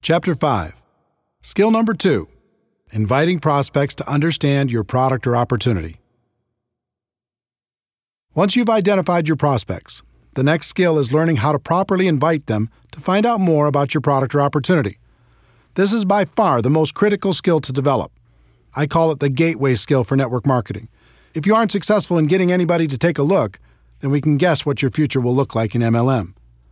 Chapter 5. Skill number 2. Inviting prospects to understand your product or opportunity. Once you've identified your prospects, the next skill is learning how to properly invite them to find out more about your product or opportunity. This is by far the most critical skill to develop. I call it the gateway skill for network marketing. If you aren't successful in getting anybody to take a look, then we can guess what your future will look like in MLM.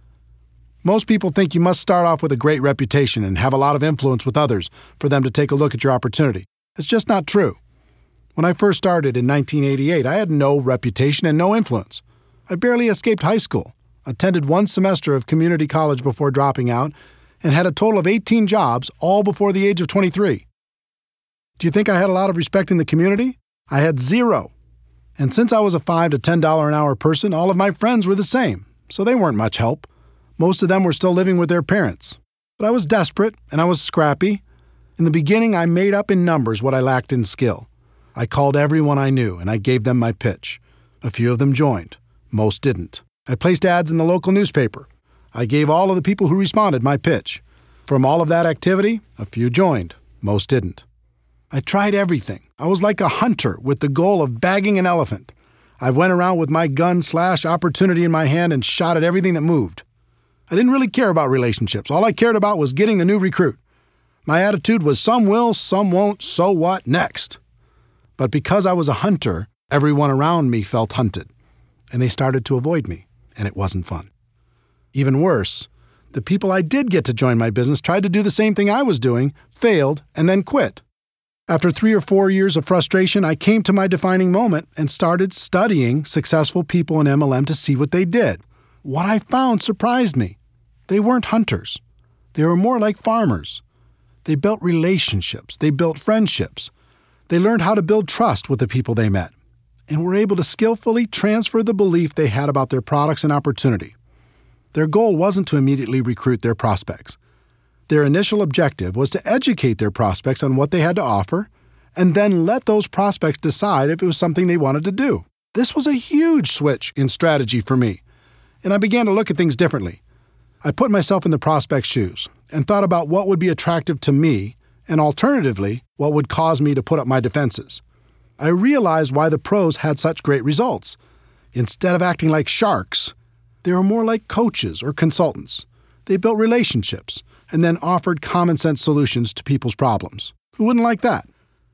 Most people think you must start off with a great reputation and have a lot of influence with others for them to take a look at your opportunity. It's just not true. When I first started in 1988, I had no reputation and no influence. I barely escaped high school, attended one semester of community college before dropping out, and had a total of 18 jobs, all before the age of 23. Do you think I had a lot of respect in the community? I had zero. And since I was a $5 to $10 an hour person, all of my friends were the same, so they weren't much help. Most of them were still living with their parents. But I was desperate, and I was scrappy. In the beginning, I made up in numbers what I lacked in skill. I called everyone I knew, and I gave them my pitch. A few of them joined. Most didn't. I placed ads in the local newspaper. I gave all of the people who responded my pitch. From all of that activity, a few joined. Most didn't. I tried everything. I was like a hunter with the goal of bagging an elephant. I went around with my gun/opportunity in my hand and shot at everything that moved. I didn't really care about relationships. All I cared about was getting the new recruit. My attitude was some will, some won't, so what, next. But because I was a hunter, everyone around me felt hunted, and they started to avoid me, and it wasn't fun. Even worse, the people I did get to join my business tried to do the same thing I was doing, failed, and then quit. After 3 or 4 years of frustration, I came to my defining moment and started studying successful people in MLM to see what they did. What I found surprised me. They weren't hunters. They were more like farmers. They built relationships. They built friendships. They learned how to build trust with the people they met, and were able to skillfully transfer the belief they had about their products and opportunity. Their goal wasn't to immediately recruit their prospects. Their initial objective was to educate their prospects on what they had to offer, and then let those prospects decide if it was something they wanted to do. This was a huge switch in strategy for me, and I began to look at things differently. I put myself in the prospect's shoes and thought about what would be attractive to me, and alternatively, what would cause me to put up my defenses. I realized why the pros had such great results. Instead of acting like sharks, they were more like coaches or consultants. They built relationships and then offered common-sense solutions to people's problems. Who wouldn't like that?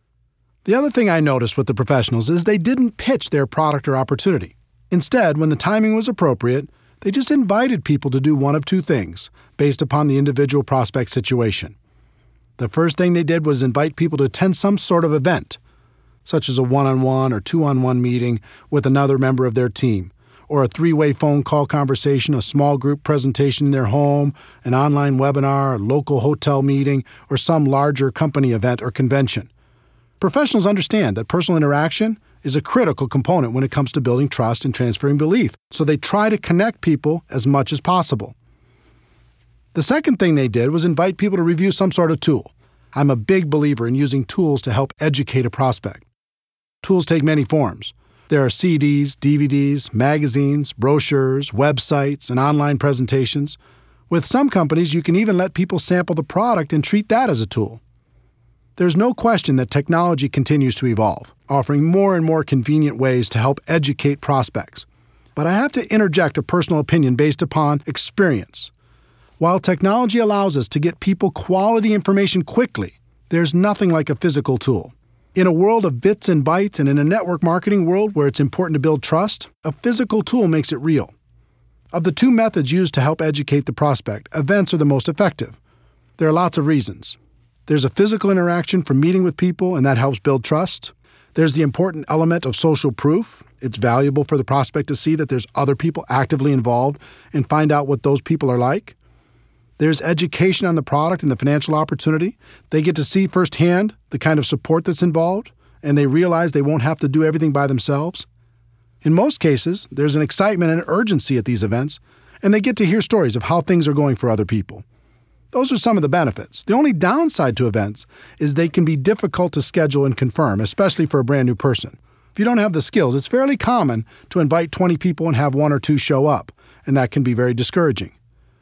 The other thing I noticed with the professionals is they didn't pitch their product or opportunity. Instead, when the timing was appropriate, they just invited people to do one of two things based upon the individual prospect situation. The first thing they did was invite people to attend some sort of event, such as a one-on-one or two-on-one meeting with another member of their team, or a 3-way phone call conversation, a small group presentation in their home, an online webinar, a local hotel meeting, or some larger company event or convention. Professionals understand that personal interaction is a critical component when it comes to building trust and transferring belief, so they try to connect people as much as possible. The second thing they did was invite people to review some sort of tool. I'm a big believer in using tools to help educate a prospect. Tools take many forms. There are CDs, DVDs, magazines, brochures, websites, and online presentations. With some companies, you can even let people sample the product and treat that as a tool. There's no question that technology continues to evolve, offering more and more convenient ways to help educate prospects. But I have to interject a personal opinion based upon experience. While technology allows us to get people quality information quickly, there's nothing like a physical tool. In a world of bits and bytes and in a network marketing world where it's important to build trust, a physical tool makes it real. Of the two methods used to help educate the prospect, events are the most effective. There are lots of reasons. There's a physical interaction from meeting with people, and that helps build trust. There's the important element of social proof. It's valuable for the prospect to see that there's other people actively involved and find out what those people are like. There's education on the product and the financial opportunity. They get to see firsthand the kind of support that's involved, and they realize they won't have to do everything by themselves. In most cases, there's an excitement and urgency at these events, and they get to hear stories of how things are going for other people. Those are some of the benefits. The only downside to events is they can be difficult to schedule and confirm, especially for a brand new person. If you don't have the skills, it's fairly common to invite 20 people and have 1 or 2 show up, and that can be very discouraging.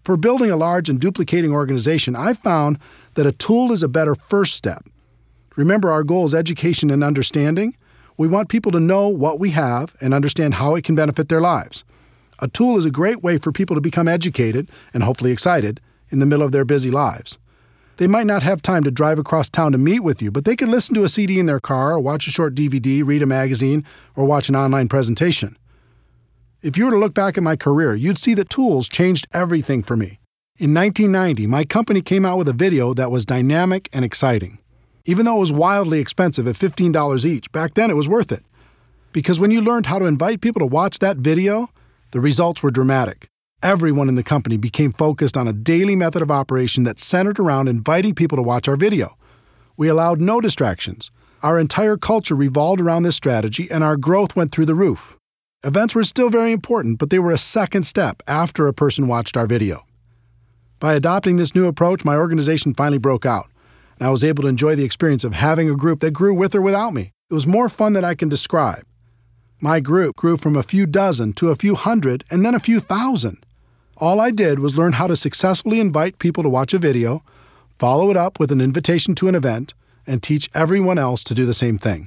For building a large and duplicating organization, I've found that a tool is a better first step. Remember, our goal is education and understanding. We want people to know what we have and understand how it can benefit their lives. A tool is a great way for people to become educated and hopefully excited in the middle of their busy lives. They might not have time to drive across town to meet with you, but they can listen to a CD in their car or watch a short DVD, read a magazine, or watch an online presentation. If you were to look back at my career, you'd see that tools changed everything for me. In 1990, my company came out with a video that was dynamic and exciting. Even though it was wildly expensive at $15 each, back then it was worth it. Because when you learned how to invite people to watch that video, the results were dramatic. Everyone in the company became focused on a daily method of operation that centered around inviting people to watch our video. We allowed no distractions. Our entire culture revolved around this strategy, and our growth went through the roof. Events were still very important, but they were a second step after a person watched our video. By adopting this new approach, my organization finally broke out, and I was able to enjoy the experience of having a group that grew with or without me. It was more fun than I can describe. My group grew from a few dozen to a few hundred and then a few thousand. All I did was learn how to successfully invite people to watch a video, follow it up with an invitation to an event, and teach everyone else to do the same thing.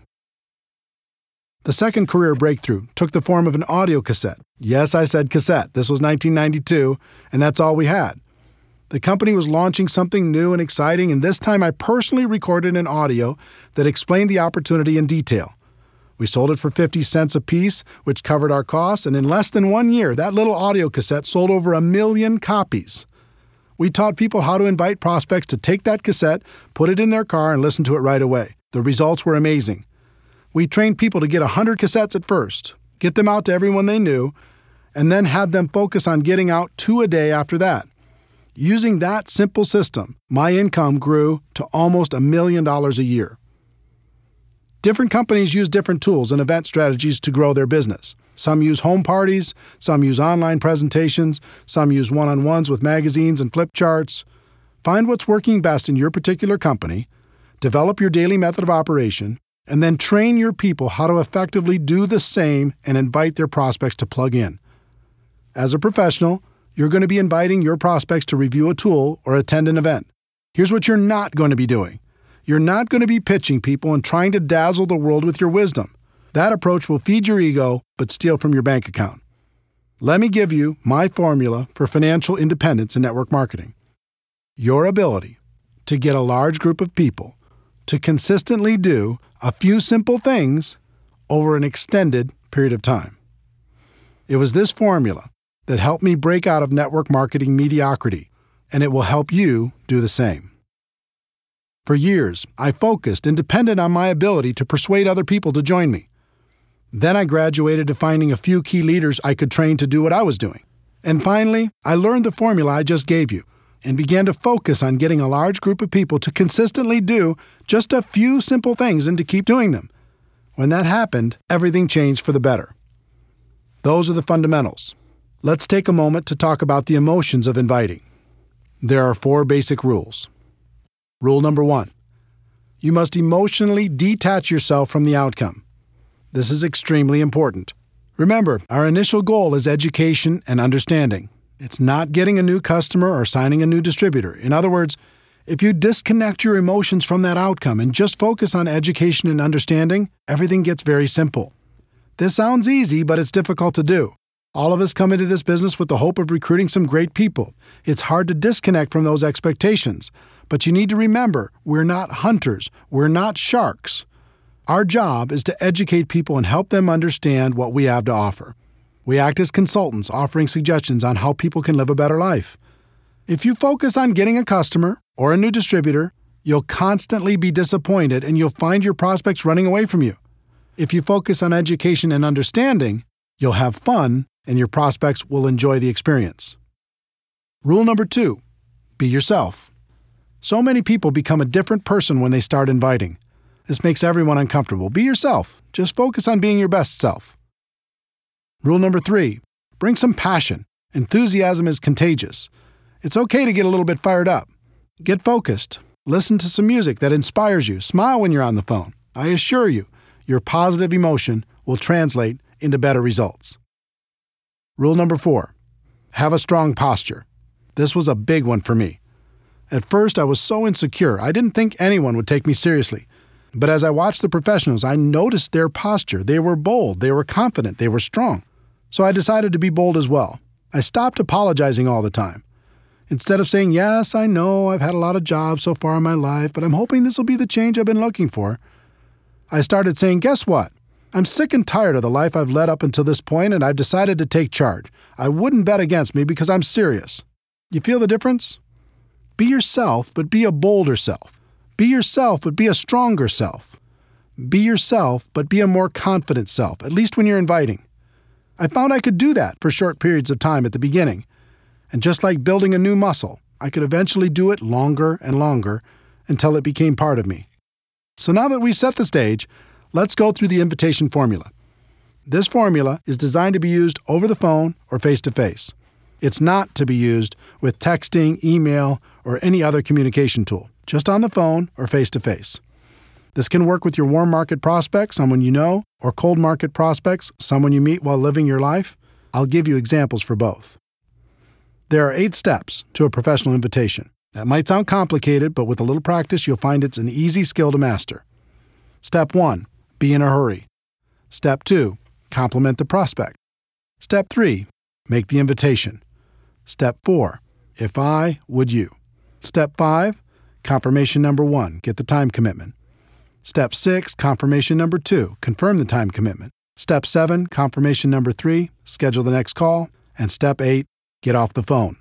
The second career breakthrough took the form of an audio cassette. Yes, I said cassette. This was 1992, and that's all we had. The company was launching something new and exciting, and this time I personally recorded an audio that explained the opportunity in detail. We sold it for 50 cents a piece, which covered our costs, and in less than 1 year, that little audio cassette sold over 1 million copies. We taught people how to invite prospects to take that cassette, put it in their car, and listen to it right away. The results were amazing. We trained people to get 100 cassettes at first, get them out to everyone they knew, and then had them focus on getting out 2 a day after that. Using that simple system, my income grew to almost $1 million a year. Different companies use different tools and event strategies to grow their business. Some use home parties, some use online presentations, some use one-on-ones with magazines and flip charts. Find what's working best in your particular company, develop your daily method of operation, and then train your people how to effectively do the same and invite their prospects to plug in. As a professional, you're going to be inviting your prospects to review a tool or attend an event. Here's what you're not going to be doing. You're not going to be pitching people and trying to dazzle the world with your wisdom. That approach will feed your ego, but steal from your bank account. Let me give you my formula for financial independence in network marketing. Your ability to get a large group of people to consistently do a few simple things over an extended period of time. It was this formula that helped me break out of network marketing mediocrity, and it will help you do the same. For years, I focused and depended on my ability to persuade other people to join me. Then I graduated to finding a few key leaders I could train to do what I was doing. And finally, I learned the formula I just gave you and began to focus on getting a large group of people to consistently do just a few simple things and to keep doing them. When that happened, everything changed for the better. Those are the fundamentals. Let's take a moment to talk about the emotions of inviting. There are 4 basic rules. Rule number 1. You must emotionally detach yourself from the outcome. This is extremely important. Remember, our initial goal is education and understanding. It's not getting a new customer or signing a new distributor. In other words, if you disconnect your emotions from that outcome and just focus on education and understanding, everything gets very simple. This sounds easy, but it's difficult to do. All of us come into this business with the hope of recruiting some great people. It's hard to disconnect from those expectations. But you need to remember, we're not hunters. We're not sharks. Our job is to educate people and help them understand what we have to offer. We act as consultants, offering suggestions on how people can live a better life. If you focus on getting a customer or a new distributor, you'll constantly be disappointed and you'll find your prospects running away from you. If you focus on education and understanding, you'll have fun and your prospects will enjoy the experience. Rule number 2, be yourself. So many people become a different person when they start inviting. This makes everyone uncomfortable. Be yourself. Just focus on being your best self. Rule number 3, bring some passion. Enthusiasm is contagious. It's okay to get a little bit fired up. Get focused. Listen to some music that inspires you. Smile when you're on the phone. I assure you, your positive emotion will translate into better results. Rule number 4, have a strong posture. This was a big one for me. At first, I was so insecure, I didn't think anyone would take me seriously. But as I watched the professionals, I noticed their posture. They were bold, they were confident, they were strong. So I decided to be bold as well. I stopped apologizing all the time. Instead of saying, yes, I know I've had a lot of jobs so far in my life, but I'm hoping this will be the change I've been looking for, I started saying, guess what? I'm sick and tired of the life I've led up until this point, and I've decided to take charge. I wouldn't bet against me because I'm serious. You feel the difference? Be yourself, but be a bolder self. Be yourself, but be a stronger self. Be yourself, but be a more confident self, at least when you're inviting. I found I could do that for short periods of time at the beginning. And just like building a new muscle, I could eventually do it longer and longer until it became part of me. So now that we've set the stage, let's go through the invitation formula. This formula is designed to be used over the phone or face-to-face. It's not to be used with texting, email, or any other communication tool, just on the phone or face-to-face. This can work with your warm market prospects, someone you know, or cold market prospects, someone you meet while living your life. I'll give you examples for both. There are 8 steps to a professional invitation. That might sound complicated, but with a little practice, you'll find it's an easy skill to master. Step 1, be in a hurry. Step 2, compliment the prospect. Step 3, make the invitation. Step 4, if I, would you. Step 5, confirmation number 1, get the time commitment. Step 6, confirmation number 2, confirm the time commitment. Step 7, confirmation number 3, schedule the next call. And Step 8, get off the phone.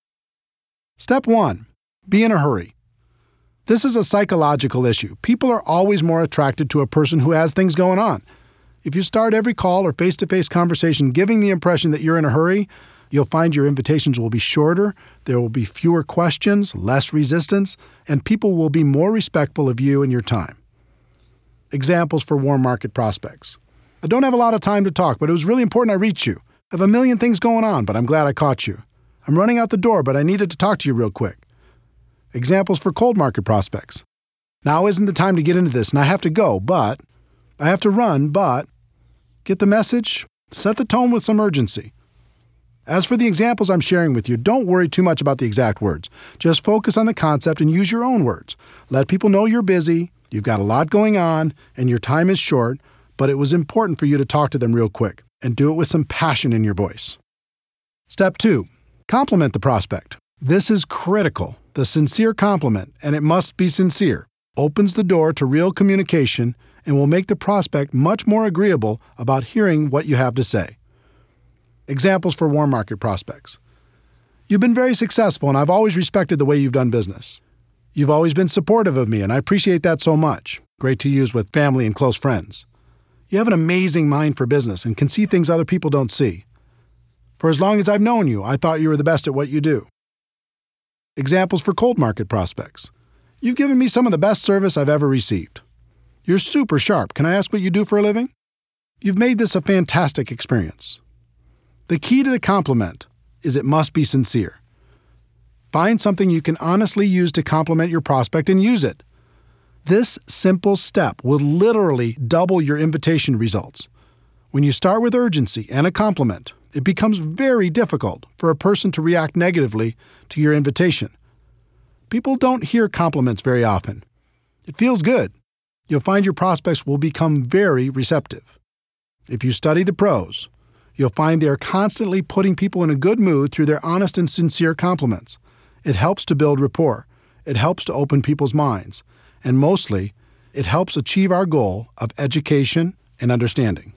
Step 1, be in a hurry. This is a psychological issue. People are always more attracted to a person who has things going on. If you start every call or face-to-face conversation giving the impression that you're in a hurry, you'll find your invitations will be shorter, there will be fewer questions, less resistance, and people will be more respectful of you and your time. Examples for warm market prospects. I don't have a lot of time to talk, but it was really important I reach you. I have a million things going on, but I'm glad I caught you. I'm running out the door, but I needed to talk to you real quick. Examples for cold market prospects. Now isn't the time to get into this, and I have to go, but I have to run, but get the message? Set the tone with some urgency. As for the examples I'm sharing with you, don't worry too much about the exact words. Just focus on the concept and use your own words. Let people know you're busy, you've got a lot going on, and your time is short, but it was important for you to talk to them real quick, and do it with some passion in your voice. Step 2, compliment the prospect. This is critical. The sincere compliment, and it must be sincere, opens the door to real communication and will make the prospect much more agreeable about hearing what you have to say. Examples for warm market prospects. You've been very successful, and I've always respected the way you've done business. You've always been supportive of me, and I appreciate that so much. Great to use with family and close friends. You have an amazing mind for business and can see things other people don't see. For as long as I've known you, I thought you were the best at what you do. Examples for cold market prospects. You've given me some of the best service I've ever received. You're super sharp. Can I ask what you do for a living? You've made this a fantastic experience. The key to the compliment is it must be sincere. Find something you can honestly use to compliment your prospect and use it. This simple step will literally double your invitation results. When you start with urgency and a compliment, it becomes very difficult for a person to react negatively to your invitation. People don't hear compliments very often. It feels good. You'll find your prospects will become very receptive. If you study the pros, you'll find they are constantly putting people in a good mood through their honest and sincere compliments. It helps to build rapport. It helps to open people's minds. And mostly, it helps achieve our goal of education and understanding.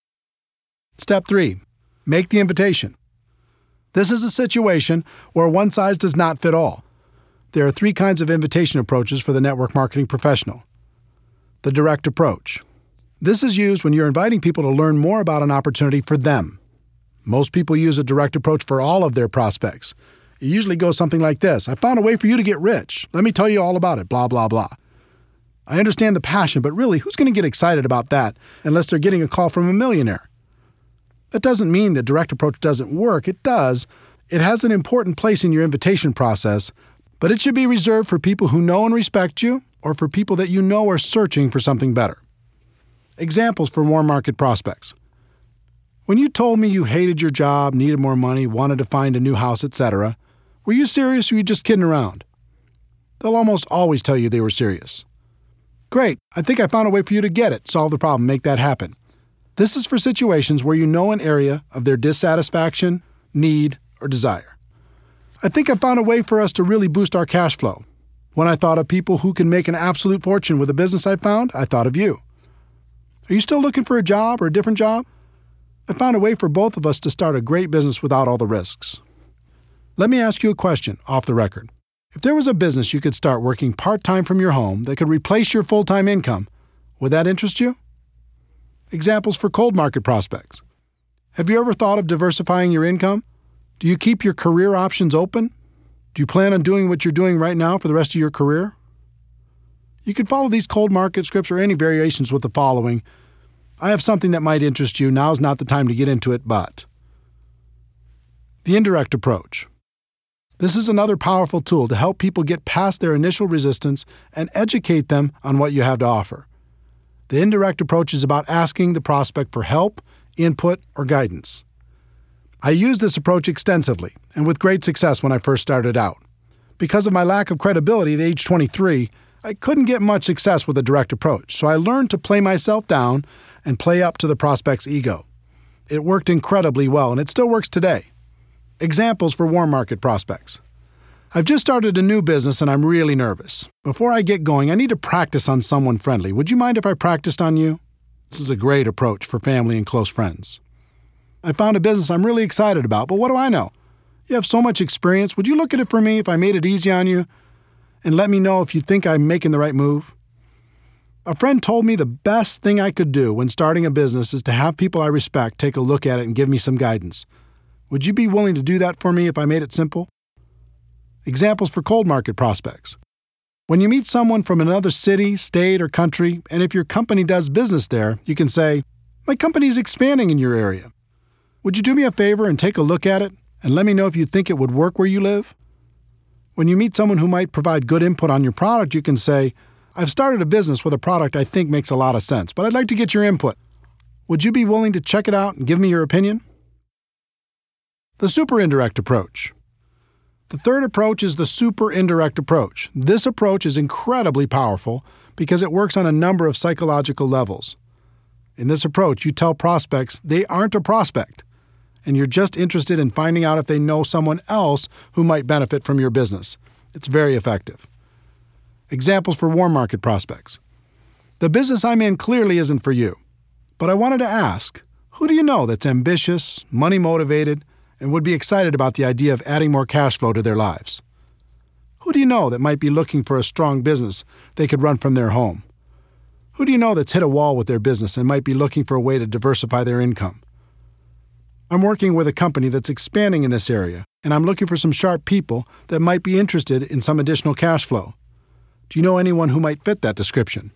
Step 3, make the invitation. This is a situation where one size does not fit all. There are 3 kinds of invitation approaches for the network marketing professional. The direct approach. This is used when you're inviting people to learn more about an opportunity for them. Most people use a direct approach for all of their prospects. It usually goes something like this: I found a way for you to get rich. Let me tell you all about it, blah, blah, blah. I understand the passion, but really, who's going to get excited about that unless they're getting a call from a millionaire? That doesn't mean the direct approach doesn't work. It does. It has an important place in your invitation process, but it should be reserved for people who know and respect you or for people that you know are searching for something better. Examples for warm market prospects. When you told me you hated your job, needed more money, wanted to find a new house, etc., Were you serious or were you just kidding around? They'll almost always tell you they were serious. Great, I think I found a way for you to get it, solve the problem, make that happen. This is for situations where you know an area of their dissatisfaction, need, or desire. I think I found a way for us to really boost our cash flow. When I thought of people who can make an absolute fortune with a business I found, I thought of you. Are you still looking for a job or a different job? I found a way for both of us to start a great business without all the risks. Let me ask you a question off the record. If there was a business you could start working part-time from your home that could replace your full-time income, would that interest you? Examples for cold market prospects. Have you ever thought of diversifying your income? Do you keep your career options open? Do you plan on doing what you're doing right now for the rest of your career? You can follow these cold market scripts or any variations with the following. I have something that might interest you. Now's not the time to get into it, but. The indirect approach. This is another powerful tool to help people get past their initial resistance and educate them on what you have to offer. The indirect approach is about asking the prospect for help, input, or guidance. I used this approach extensively and with great success when I first started out. Because of my lack of credibility at age 23, I couldn't get much success with a direct approach, so I learned to play myself down and play up to the prospect's ego. It worked incredibly well, and it still works today. Examples for warm market prospects. I've just started a new business and I'm really nervous. Before I get going, I need to practice on someone friendly. Would you mind if I practiced on you? This is a great approach for family and close friends. I found a business I'm really excited about, but what do I know? You have so much experience. Would you look at it for me if I made it easy on you? And let me know if you think I'm making the right move? A friend told me the best thing I could do when starting a business is to have people I respect take a look at it and give me some guidance. Would you be willing to do that for me if I made it simple? Examples for cold market prospects. When you meet someone from another city, state, or country, and if your company does business there, you can say, "My company is expanding in your area. Would you do me a favor and take a look at it and let me know if you think it would work where you live?" When you meet someone who might provide good input on your product, you can say, "I've started a business with a product I think makes a lot of sense, but I'd like to get your input. Would you be willing to check it out and give me your opinion?" The super indirect approach. The third approach is the super indirect approach. This approach is incredibly powerful because it works on a number of psychological levels. In this approach, you tell prospects they aren't a prospect, and you're just interested in finding out if they know someone else who might benefit from your business. It's very effective. Examples for warm market prospects. The business I'm in clearly isn't for you, but I wanted to ask, who do you know that's ambitious, money-motivated, and would be excited about the idea of adding more cash flow to their lives? Who do you know that might be looking for a strong business they could run from their home? Who do you know that's hit a wall with their business and might be looking for a way to diversify their income? I'm working with a company that's expanding in this area, and I'm looking for some sharp people that might be interested in some additional cash flow. Do you know anyone who might fit that description?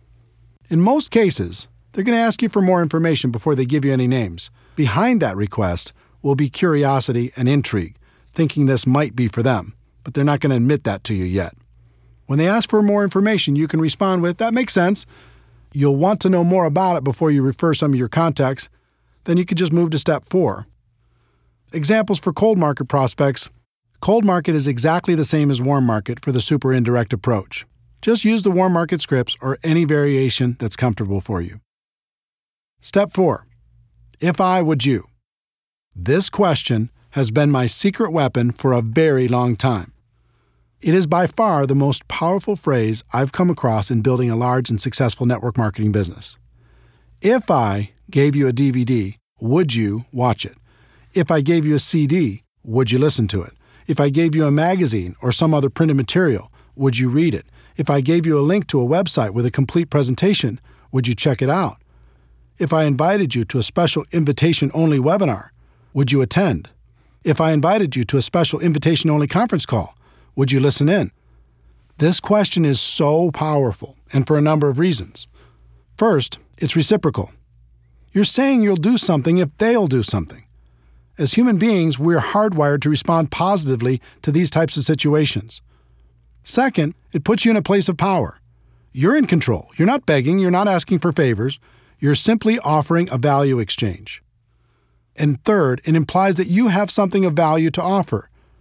In most cases, they're going to ask you for more information before they give you any names. Behind that request will be curiosity and intrigue, thinking this might be for them, but they're not going to admit that to you yet. When they ask for more information, you can respond with, "That makes sense." You'll want to know more about it before you refer some of your contacts. Then you could just move to step 4. Examples for cold market prospects. Cold market is exactly the same as warm market for the super indirect approach. Just use the warm market scripts or any variation that's comfortable for you. Step 4. If I, would you? This question has been my secret weapon for a very long time. It is by far the most powerful phrase I've come across in building a large and successful network marketing business. If I gave you a DVD, would you watch it? If I gave you a CD, would you listen to it? If I gave you a magazine or some other printed material, would you read it? If I gave you a link to a website with a complete presentation, would you check it out? If I invited you to a special invitation-only webinar, would you attend? If I invited you to a special invitation-only conference call, would you listen in? This question is so powerful, and for a number of reasons. First, it's reciprocal. You're saying you'll do something if they'll do something. As human beings, we're hardwired to respond positively to these types of situations. Second, it puts you in a place of power. You're in control. You're not begging. You're not asking for favors. You're simply offering a value exchange. And third, it implies that you have something of value to offer.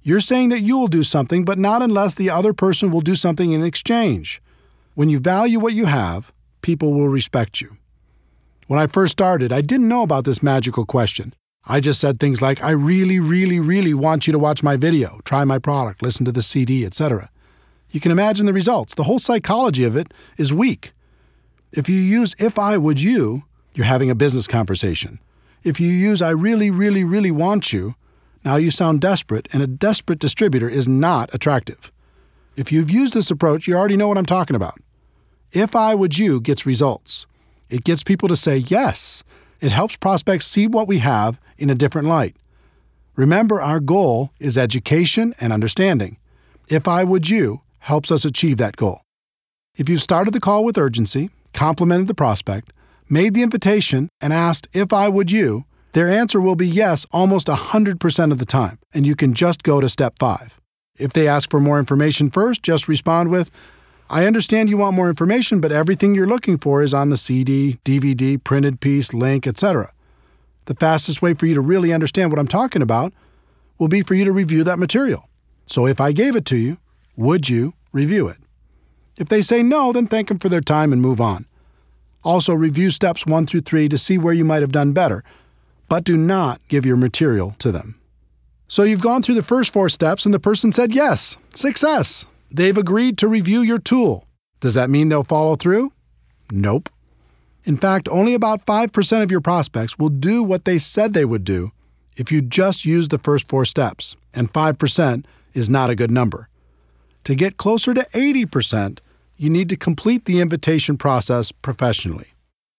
You're saying that you will do something, but not unless the other person will do something in exchange. When you value what you have, people will respect you. When I first started, I didn't know about this magical question. I just said things like, I really, really, really want you to watch my video, try my product, listen to the CD, etc. You can imagine the results. The whole psychology of it is weak. If you use if I would you, you're having a business conversation. If you use I really, really, really want you, now you sound desperate, and a desperate distributor is not attractive. If you've used this approach, you already know what I'm talking about. If I would you gets results. It gets people to say yes. It helps prospects see what we have in a different light. Remember, our goal is education and understanding. If I would you helps us achieve that goal. If you've started the call with urgency, complimented the prospect, made the invitation, and asked if I would you, their answer will be yes almost 100% of the time, and you can just go to step 5. If they ask for more information first, just respond with, I understand you want more information, but everything you're looking for is on the CD, DVD, printed piece, link, etc. The fastest way for you to really understand what I'm talking about will be for you to review that material. So if I gave it to you, would you review it? If they say no, then thank them for their time and move on. Also, review steps 1 through 3 to see where you might have done better, but do not give your material to them. So you've gone through the first 4 steps and the person said yes. Success! They've agreed to review your tool. Does that mean they'll follow through? Nope. In fact, only about 5% of your prospects will do what they said they would do if you just use the first 4 steps, and 5% is not a good number. To get closer to 80%, you need to complete the invitation process professionally.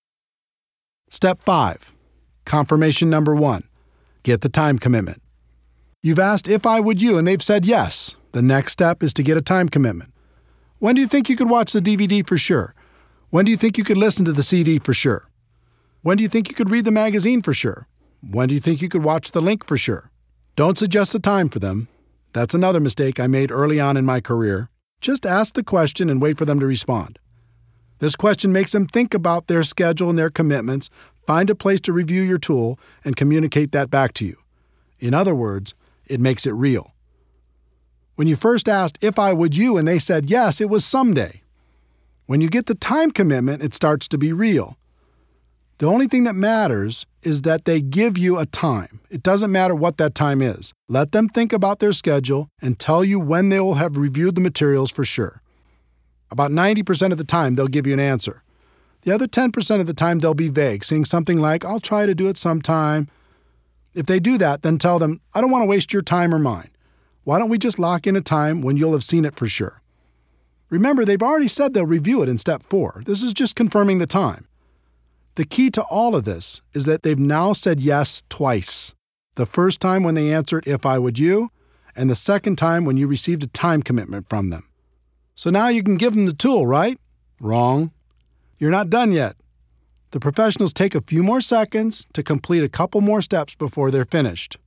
Step 5. Confirmation number 1. Get the time commitment. You've asked if I would you, and they've said yes. The next step is to get a time commitment. When do you think you could watch the DVD for sure? When do you think you could listen to the CD for sure? When do you think you could read the magazine for sure? When do you think you could watch the link for sure? Don't suggest a time for them. That's another mistake I made early on in my career. Just ask the question and wait for them to respond. This question makes them think about their schedule and their commitments, find a place to review your tool, and communicate that back to you. In other words, it makes it real. When you first asked if I would you and they said yes, it was someday. When you get the time commitment, it starts to be real. The only thing that matters is that they give you a time. It doesn't matter what that time is. Let them think about their schedule and tell you when they will have reviewed the materials for sure. About 90% of the time, they'll give you an answer. The other 10% of the time, they'll be vague, saying something like, I'll try to do it sometime. If they do that, then tell them, I don't want to waste your time or mine. Why don't we just lock in a time when you'll have seen it for sure? Remember, they've already said they'll review it in step 4. This is just confirming the time. The key to all of this is that they've now said yes twice. The first time when they answered if I would you, and the second time when you received a time commitment from them. So now you can give them the tool, right? Wrong. You're not done yet. The professionals take a few more seconds to complete a couple more steps before they're finished.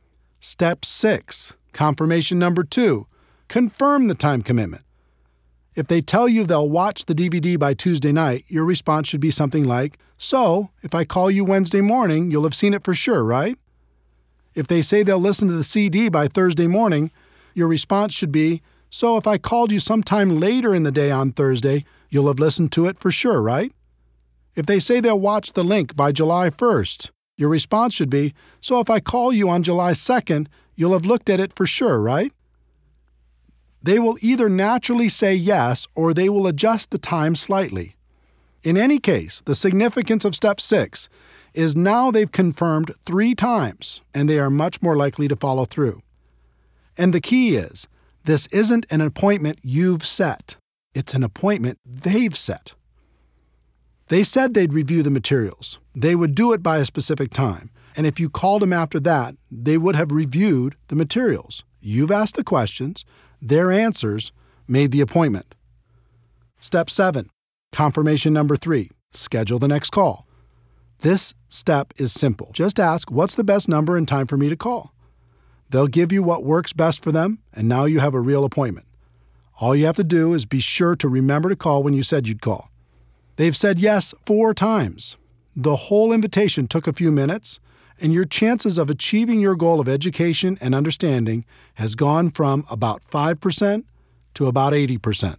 Step 6, confirmation number 2, confirm the time commitment. If they tell you they'll watch the DVD by Tuesday night, your response should be something like, so, if I call you Wednesday morning, you'll have seen it for sure, right? If they say they'll listen to the CD by Thursday morning, your response should be, so if I called you sometime later in the day on Thursday, you'll have listened to it for sure, right? If they say they'll watch the link by July 1st, your response should be, so if I call you on July 2nd, you'll have looked at it for sure, right? They will either naturally say yes or they will adjust the time slightly. In any case, the significance of step 6 is now they've confirmed 3 times and they are much more likely to follow through. And the key is, this isn't an appointment you've set. It's an appointment they've set. They said they'd review the materials. They would do it by a specific time. And if you called them after that, they would have reviewed the materials. You've asked the questions. Their answers made the appointment. Step 7, confirmation number 3, schedule the next call. This step is simple. Just ask, what's the best number and time for me to call? They'll give you what works best for them, and now you have a real appointment. All you have to do is be sure to remember to call when you said you'd call. They've said yes 4 times. The whole invitation took a few minutes, and your chances of achieving your goal of education and understanding has gone from about 5% to about 80%.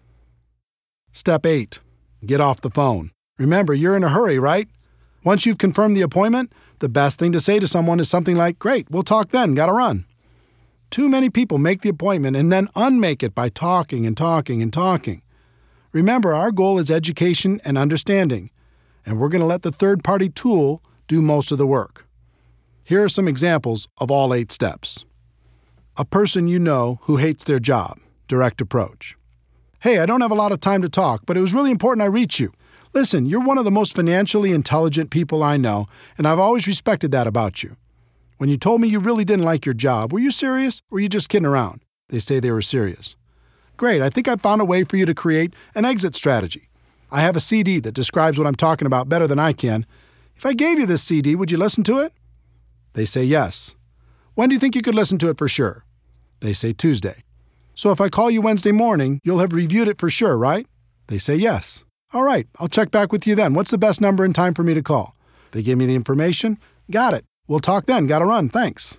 Step 8. Get off the phone. Remember, you're in a hurry, right? Once you've confirmed the appointment, the best thing to say to someone is something like, "Great, we'll talk then, gotta run." Too many people make the appointment and then unmake it by talking and talking and talking. Remember, our goal is education and understanding, and we're going to let the third-party tool do most of the work. Here are some examples of all 8 steps. A person you know who hates their job. Direct approach. "Hey, I don't have a lot of time to talk, but it was really important I reach you. Listen, you're one of the most financially intelligent people I know, and I've always respected that about you. When you told me you really didn't like your job, were you serious or were you just kidding around?" They say they were serious. "Great, I think I found a way for you to create an exit strategy. I have a CD that describes what I'm talking about better than I can. If I gave you this CD, would you listen to it?" They say yes. "When do you think you could listen to it for sure?" They say Tuesday. "So if I call you Wednesday morning, you'll have reviewed it for sure, right?" They say yes. "All right, I'll check back with you then. What's the best number and time for me to call?" They give me the information. "Got it. We'll talk then. Gotta run. Thanks."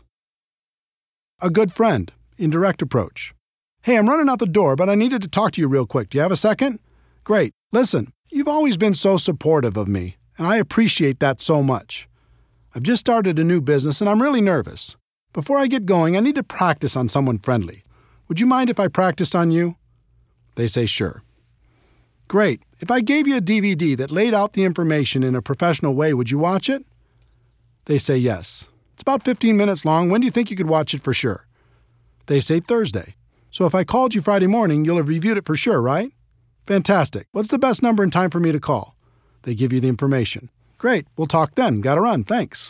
A good friend. Indirect approach. "Hey, I'm running out the door, but I needed to talk to you real quick. Do you have a second?" "Great. Listen, you've always been so supportive of me, and I appreciate that so much. I've just started a new business, and I'm really nervous. Before I get going, I need to practice on someone friendly. Would you mind if I practiced on you?" They say sure. "Great. If I gave you a DVD that laid out the information in a professional way, would you watch it?" They say yes. "It's about 15 minutes long. When do you think you could watch it for sure?" They say Thursday. "So if I called you Friday morning, you'll have reviewed it for sure, right?" "Fantastic. What's the best number and time for me to call?" They give you the information. "Great. We'll talk then. Gotta run. Thanks."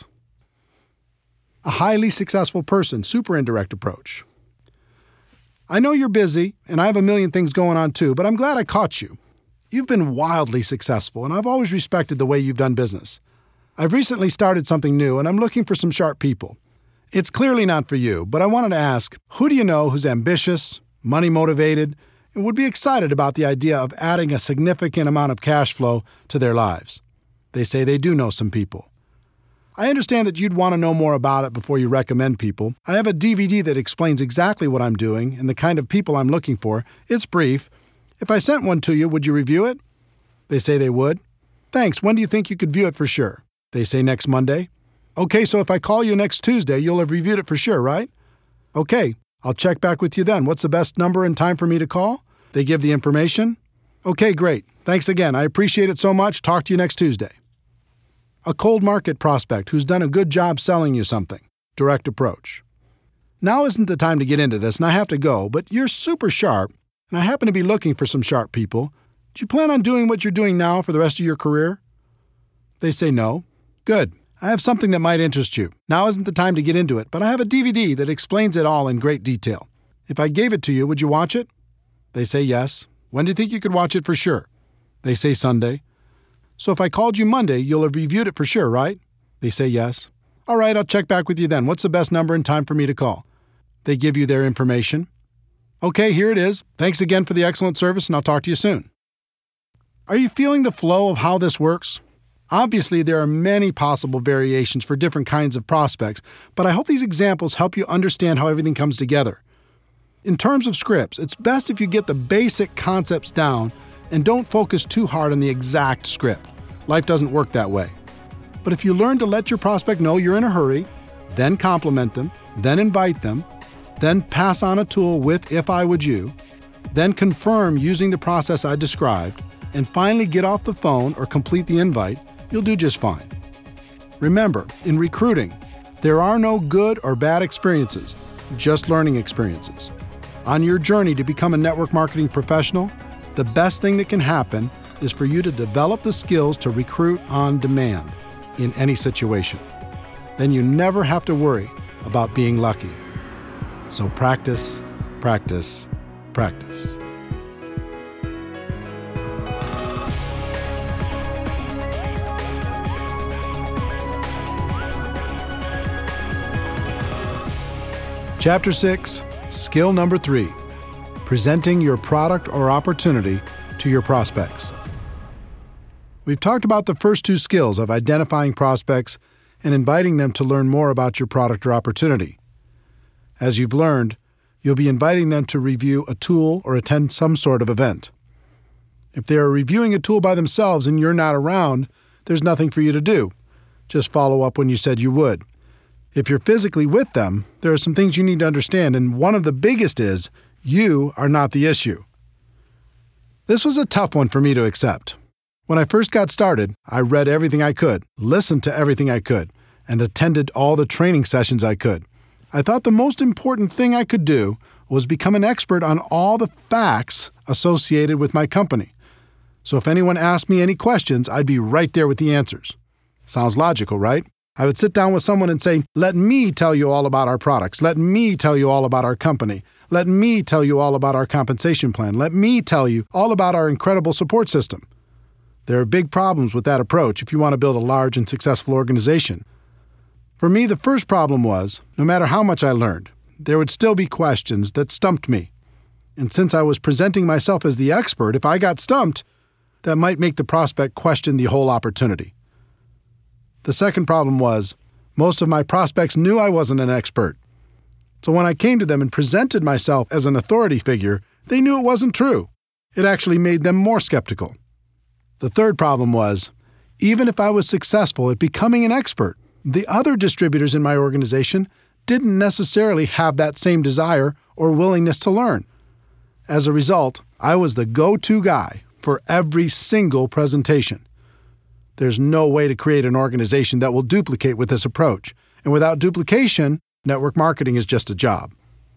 A highly successful person. Super indirect approach. "I know you're busy, and I have a million things going on too, but I'm glad I caught you. You've been wildly successful, and I've always respected the way you've done business. I've recently started something new, and I'm looking for some sharp people. It's clearly not for you, but I wanted to ask, who do you know who's ambitious, money-motivated, and would be excited about the idea of adding a significant amount of cash flow to their lives?" They say they do know some people. "I understand that you'd want to know more about it before you recommend people. I have a DVD that explains exactly what I'm doing and the kind of people I'm looking for. It's brief. If I sent one to you, would you review it?" They say they would. "Thanks. When do you think you could view it for sure?" They say next Monday. "Okay, so if I call you next Tuesday, you'll have reviewed it for sure, right?" "Okay, I'll check back with you then. What's the best number and time for me to call?" They give the information. "Okay, great. Thanks again. I appreciate it so much. Talk to you next Tuesday." A cold market prospect who's done a good job selling you something. Direct approach. "Now isn't the time to get into this, and I have to go, but you're super sharp, and I happen to be looking for some sharp people. Do you plan on doing what you're doing now for the rest of your career?" They say no. "Good. I have something that might interest you. Now isn't the time to get into it, but I have a DVD that explains it all in great detail. If I gave it to you, would you watch it?" They say yes. "When do you think you could watch it for sure?" They say Sunday. "So if I called you Monday, you'll have reviewed it for sure, right?" They say yes. "All right, I'll check back with you then. What's the best number and time for me to call?" They give you their information. "Okay, here it is. Thanks again for the excellent service, and I'll talk to you soon." Are you feeling the flow of how this works? Obviously, there are many possible variations for different kinds of prospects, but I hope these examples help you understand how everything comes together. In terms of scripts, it's best if you get the basic concepts down and don't focus too hard on the exact script. Life doesn't work that way. But if you learn to let your prospect know you're in a hurry, then compliment them, then invite them, then pass on a tool with "if I would you," then confirm using the process I described, and finally get off the phone or complete the invite, you'll do just fine. Remember, in recruiting, there are no good or bad experiences, just learning experiences. On your journey to become a network marketing professional, the best thing that can happen is for you to develop the skills to recruit on demand in any situation. Then you never have to worry about being lucky. So practice, practice, practice. Chapter 6, Skill Number 3, Presenting Your Product or Opportunity to Your Prospects. We've talked about the first two skills of identifying prospects and inviting them to learn more about your product or opportunity. As you've learned, you'll be inviting them to review a tool or attend some sort of event. If they are reviewing a tool by themselves and you're not around, there's nothing for you to do. Just follow up when you said you would. If you're physically with them, there are some things you need to understand, and one of the biggest is you are not the issue. This was a tough one for me to accept. When I first got started, I read everything I could, listened to everything I could, and attended all the training sessions I could. I thought the most important thing I could do was become an expert on all the facts associated with my company. So if anyone asked me any questions, I'd be right there with the answers. Sounds logical, right? I would sit down with someone and say, let me tell you all about our products. Let me tell you all about our company. Let me tell you all about our compensation plan. Let me tell you all about our incredible support system. There are big problems with that approach if you want to build a large and successful organization. For me, the first problem was, no matter how much I learned, there would still be questions that stumped me. And since I was presenting myself as the expert, if I got stumped, that might make the prospect question the whole opportunity. The second problem was, most of my prospects knew I wasn't an expert. So when I came to them and presented myself as an authority figure, they knew it wasn't true. It actually made them more skeptical. The third problem was, even if I was successful at becoming an expert, the other distributors in my organization didn't necessarily have that same desire or willingness to learn. As a result, I was the go-to guy for every single presentation. There's no way to create an organization that will duplicate with this approach, and without duplication, network marketing is just a job.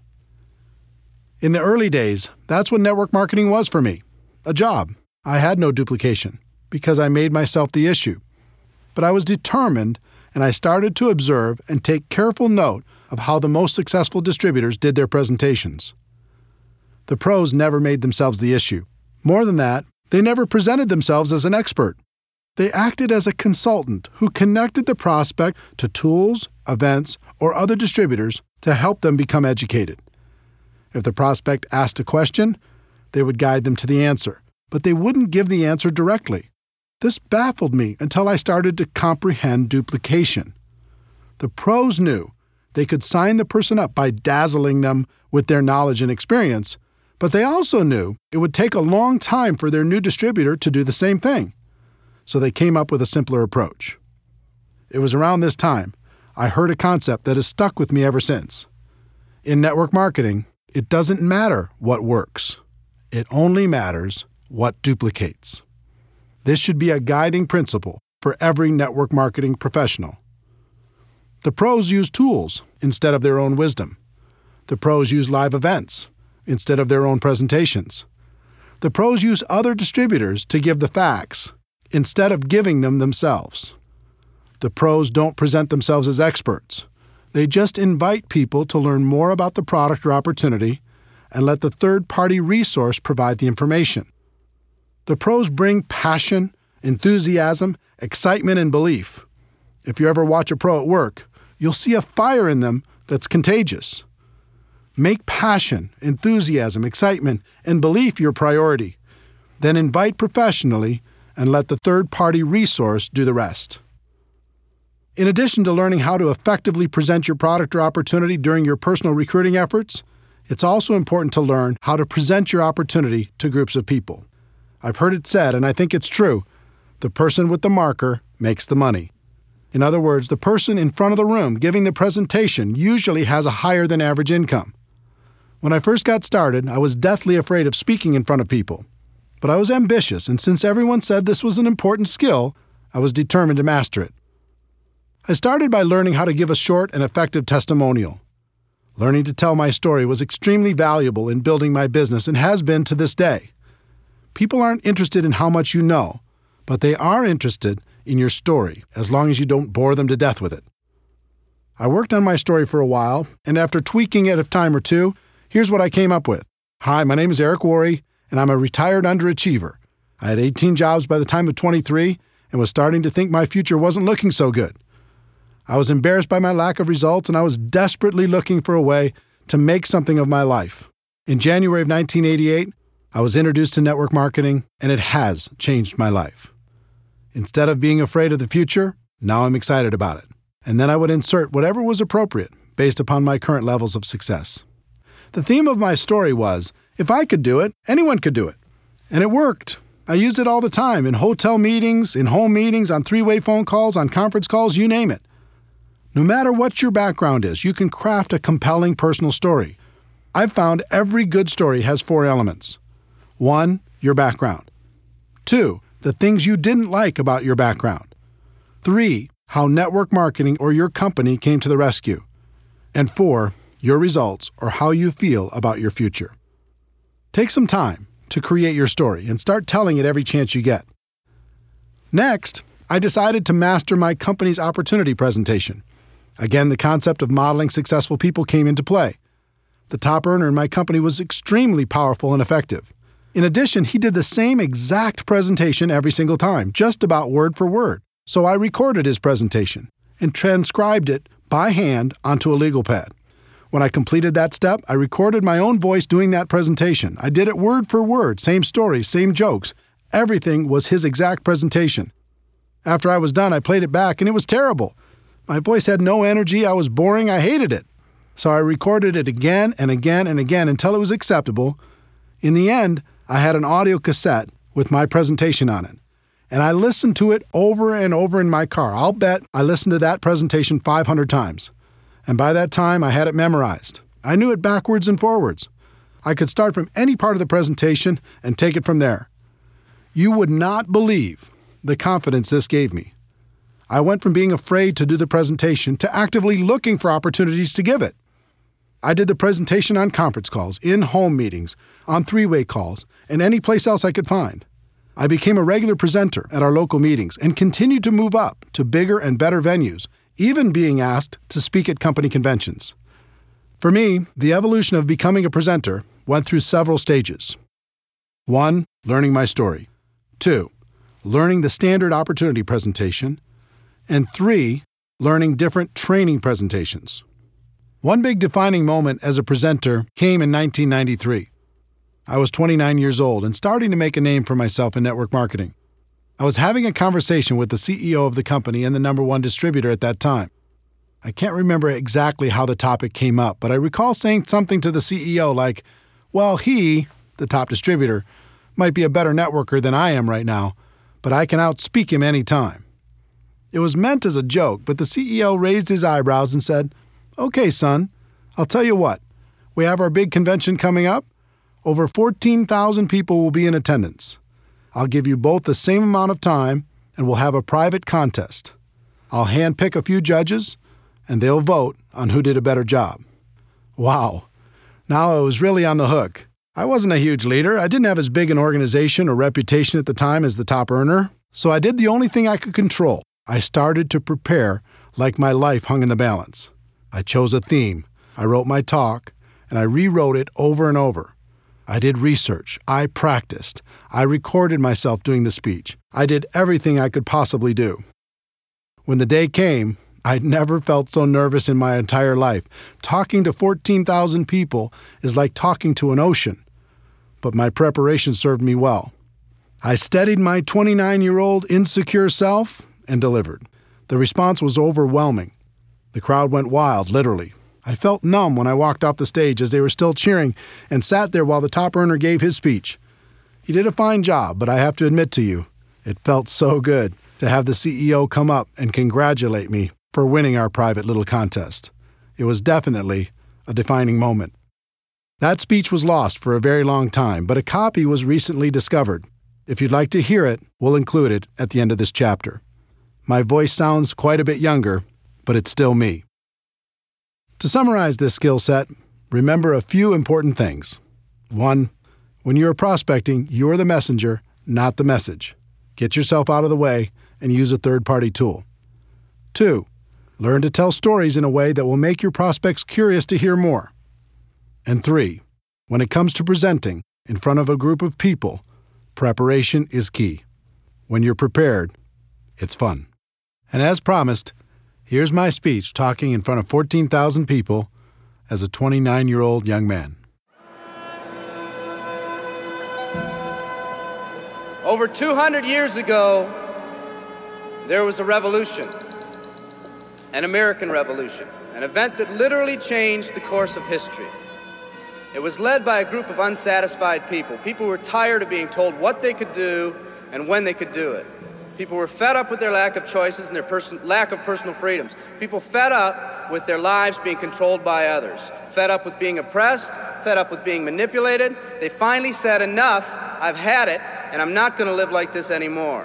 In the early days, that's what network marketing was for me, a job. I had no duplication because I made myself the issue. But I was determined, and I started to observe and take careful note of how the most successful distributors did their presentations. The pros never made themselves the issue. More than that, they never presented themselves as an expert. They acted as a consultant who connected the prospect to tools, events, or other distributors to help them become educated. If the prospect asked a question, they would guide them to the answer, but they wouldn't give the answer directly. This baffled me until I started to comprehend duplication. The pros knew they could sign the person up by dazzling them with their knowledge and experience, but they also knew it would take a long time for their new distributor to do the same thing. So they came up with a simpler approach. It was around this time I heard a concept that has stuck with me ever since. In network marketing, it doesn't matter what works. It only matters what duplicates. This should be a guiding principle for every network marketing professional. The pros use tools instead of their own wisdom. The pros use live events instead of their own presentations. The pros use other distributors to give the facts instead of giving them themselves. The pros don't present themselves as experts. They just invite people to learn more about the product or opportunity and let the third-party resource provide the information. The pros bring passion, enthusiasm, excitement, and belief. If you ever watch a pro at work, you'll see a fire in them that's contagious. Make passion, enthusiasm, excitement, and belief your priority. Then invite professionally and let the third-party resource do the rest. In addition to learning how to effectively present your product or opportunity during your personal recruiting efforts, it's also important to learn how to present your opportunity to groups of people. I've heard it said, and I think it's true, the person with the marker makes the money. In other words, the person in front of the room giving the presentation usually has a higher than average income. When I first got started, I was deathly afraid of speaking in front of people. But I was ambitious, and since everyone said this was an important skill, I was determined to master it. I started by learning how to give a short and effective testimonial. Learning to tell my story was extremely valuable in building my business and has been to this day. People aren't interested in how much you know, but they are interested in your story, as long as you don't bore them to death with it. I worked on my story for a while, and after tweaking it a time or two, here's what I came up with. Hi, my name is Eric Worre, and I'm a retired underachiever. I had 18 jobs by the time of 23 and was starting to think my future wasn't looking so good. I was embarrassed by my lack of results, and I was desperately looking for a way to make something of my life. In January of 1988, I was introduced to network marketing, and it has changed my life. Instead of being afraid of the future, now I'm excited about it. and then I would insert whatever was appropriate based upon my current levels of success. The theme of my story was, if I could do it, anyone could do it. And it worked. I used it all the time, in hotel meetings, in home meetings, on three-way phone calls, on conference calls, you name it. No matter what your background is, you can craft a compelling personal story. I've found every good story has 4 elements. 1, your background. 2, the things you didn't like about your background. 3, how network marketing or your company came to the rescue. And 4, your results or how you feel about your future. Take some time to create your story and start telling it every chance you get. Next, I decided to master my company's opportunity presentation. Again, the concept of modeling successful people came into play. The top earner in my company was extremely powerful and effective. In addition, he did the same exact presentation every single time, just about word for word. So I recorded his presentation and transcribed it by hand onto a legal pad. When I completed that step, I recorded my own voice doing that presentation. I did it word for word, same stories, same jokes. Everything was his exact presentation. After I was done, I played it back, and it was terrible. My voice had no energy, I was boring, I hated it. So I recorded it again and again and again until it was acceptable. In the end, I had an audio cassette with my presentation on it. And I listened to it over and over in my car. I'll bet I listened to that presentation 500 times. And by that time, I had it memorized. I knew it backwards and forwards. I could start from any part of the presentation and take it from there. You would not believe the confidence this gave me. I went from being afraid to do the presentation to actively looking for opportunities to give it. I did the presentation on conference calls, in home meetings, on three-way calls, and any place else I could find. I became a regular presenter at our local meetings and continued to move up to bigger and better venues, even being asked to speak at company conventions. For me, the evolution of becoming a presenter went through several stages. 1, learning my story. 2, learning the standard opportunity presentation. And 3, learning different training presentations. One big defining moment as a presenter came in 1993. I was 29 years old and starting to make a name for myself in network marketing. I was having a conversation with the CEO of the company and the number 1 distributor at that time. I can't remember exactly how the topic came up, but I recall saying something to the CEO like, well, he, the top distributor, might be a better networker than I am right now, but I can outspeak him any time. It was meant as a joke, but the CEO raised his eyebrows and said, okay, son, I'll tell you what. We have our big convention coming up. Over 14,000 people will be in attendance. I'll give you both the same amount of time, and we'll have a private contest. I'll handpick a few judges, and they'll vote on who did a better job. Wow. Now I was really on the hook. I wasn't a huge leader. I didn't have as big an organization or reputation at the time as the top earner, so I did the only thing I could control. I started to prepare like my life hung in the balance. I chose a theme. I wrote my talk, and I rewrote it over and over. I did research. I practiced. I recorded myself doing the speech. I did everything I could possibly do. When the day came, I'd never felt so nervous in my entire life. Talking to 14,000 people is like talking to an ocean. But my preparation served me well. I steadied my 29-year-old insecure self and delivered. The response was overwhelming. The crowd went wild, literally. I felt numb when I walked off the stage as they were still cheering and sat there while the top earner gave his speech. He did a fine job, but I have to admit to you, it felt so good to have the CEO come up and congratulate me for winning our private little contest. It was definitely a defining moment. That speech was lost for a very long time, but a copy was recently discovered. If you'd like to hear it, we'll include it at the end of this chapter. My voice sounds quite a bit younger, but it's still me. To summarize this skill set, remember a few important things. 1, when you're prospecting, you're the messenger, not the message. Get yourself out of the way and use a third-party tool. 2, learn to tell stories in a way that will make your prospects curious to hear more. And 3, when it comes to presenting in front of a group of people, preparation is key. When you're prepared, it's fun. And as promised, here's my speech talking in front of 14,000 people as a 29-year-old young man. Over 200 years ago, there was a revolution. an American Revolution, an event that literally changed the course of history. It was led by a group of unsatisfied people who were tired of being told what they could do and when they could do it. People were fed up with their lack of choices and their lack of personal freedoms. People fed up with their lives being controlled by others, fed up with being oppressed, fed up with being manipulated. They finally said, enough, I've had it, and I'm not going to live like this anymore.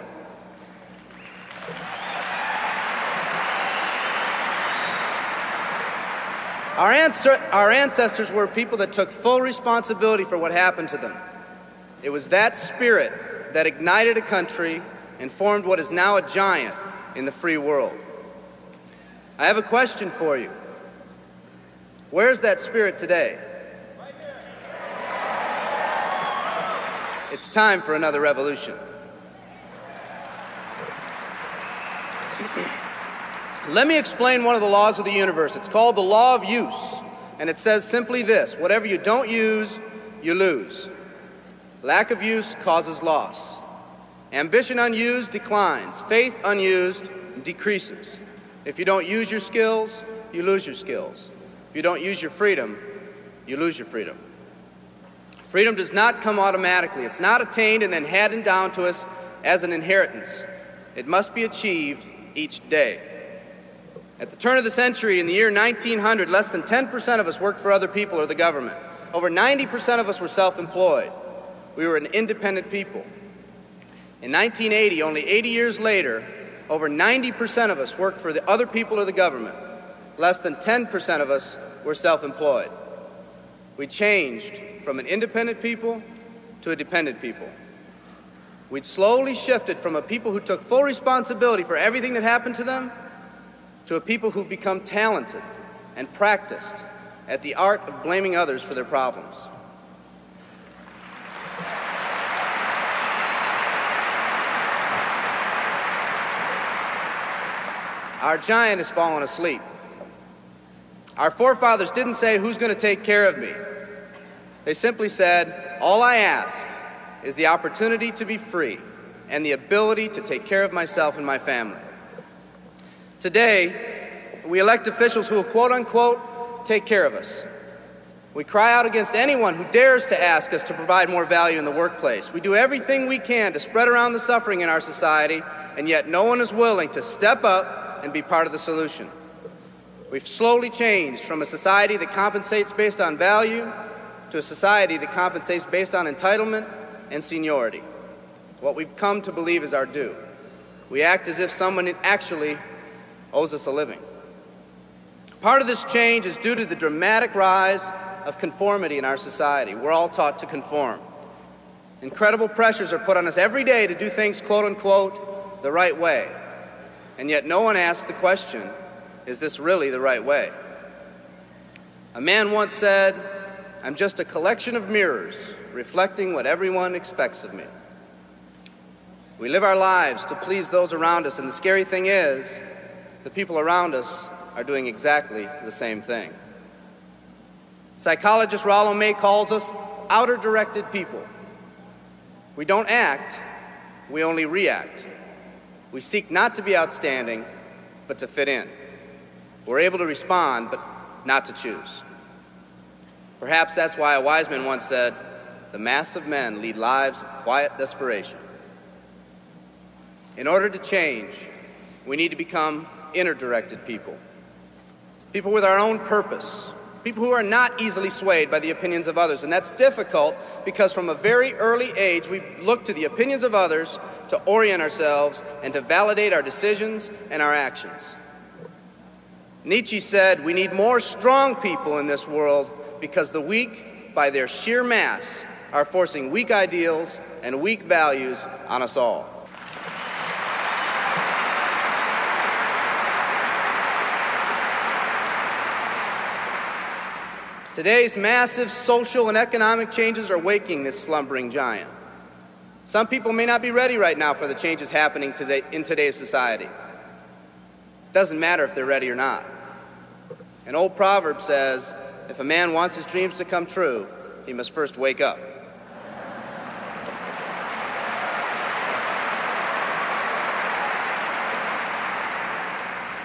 Our ancestors were people that took full responsibility for what happened to them. It was that spirit that ignited a country and formed what is now a giant in the free world. I have a question for you. Where's that spirit today? Right here. It's time for another revolution. Let me explain one of the laws of the universe. It's called the law of use, and it says simply this: whatever you don't use, you lose. Lack of use causes loss. Ambition unused declines. Faith unused decreases. If you don't use your skills, you lose your skills. If you don't use your freedom, you lose your freedom. Freedom does not come automatically. It's not attained and then handed down to us as an inheritance. It must be achieved each day. At the turn of the century, in the year 1900, less than 10% of us worked for other people or the government. Over 90% of us were self-employed. We were an independent people. In 1980, only 80 years later, over 90% of us worked for the other people or the government. Less than 10% of us were self-employed. We changed from an independent people to a dependent people. We'd slowly shifted from a people who took full responsibility for everything that happened to them to a people who've become talented and practiced at the art of blaming others for their problems. Our giant has fallen asleep. Our forefathers didn't say, who's going to take care of me? They simply said, all I ask is the opportunity to be free and the ability to take care of myself and my family. Today, we elect officials who will, quote unquote, take care of us. We cry out against anyone who dares to ask us to provide more value in the workplace. We do everything we can to spread around the suffering in our society, and yet no one is willing to step up and be part of the solution. We've slowly changed from a society that compensates based on value to a society that compensates based on entitlement and seniority. What we've come to believe is our due. We act as if someone actually owes us a living. Part of this change is due to the dramatic rise of conformity in our society. We're all taught to conform. Incredible pressures are put on us every day to do things, quote unquote, the right way. And yet no one asks the question, is this really the right way? A man once said, I'm just a collection of mirrors reflecting what everyone expects of me. We live our lives to please those around us, and the scary thing is, the people around us are doing exactly the same thing. Psychologist Rollo May calls us outer-directed people. We don't act, we only react. We seek not to be outstanding, but to fit in. We're able to respond, but not to choose. Perhaps that's why a wise man once said, the mass of men lead lives of quiet desperation. In order to change, we need to become inner-directed people. People with our own purpose. People who are not easily swayed by the opinions of others. And that's difficult because from a very early age, we look to the opinions of others to orient ourselves and to validate our decisions and our actions. Nietzsche said, we need more strong people in this world because the weak, by their sheer mass, are forcing weak ideals and weak values on us all. Today's massive social and economic changes are waking this slumbering giant. Some people may not be ready right now for the changes happening today in today's society. It doesn't matter if they're ready or not. An old proverb says, if a man wants his dreams to come true, he must first wake up.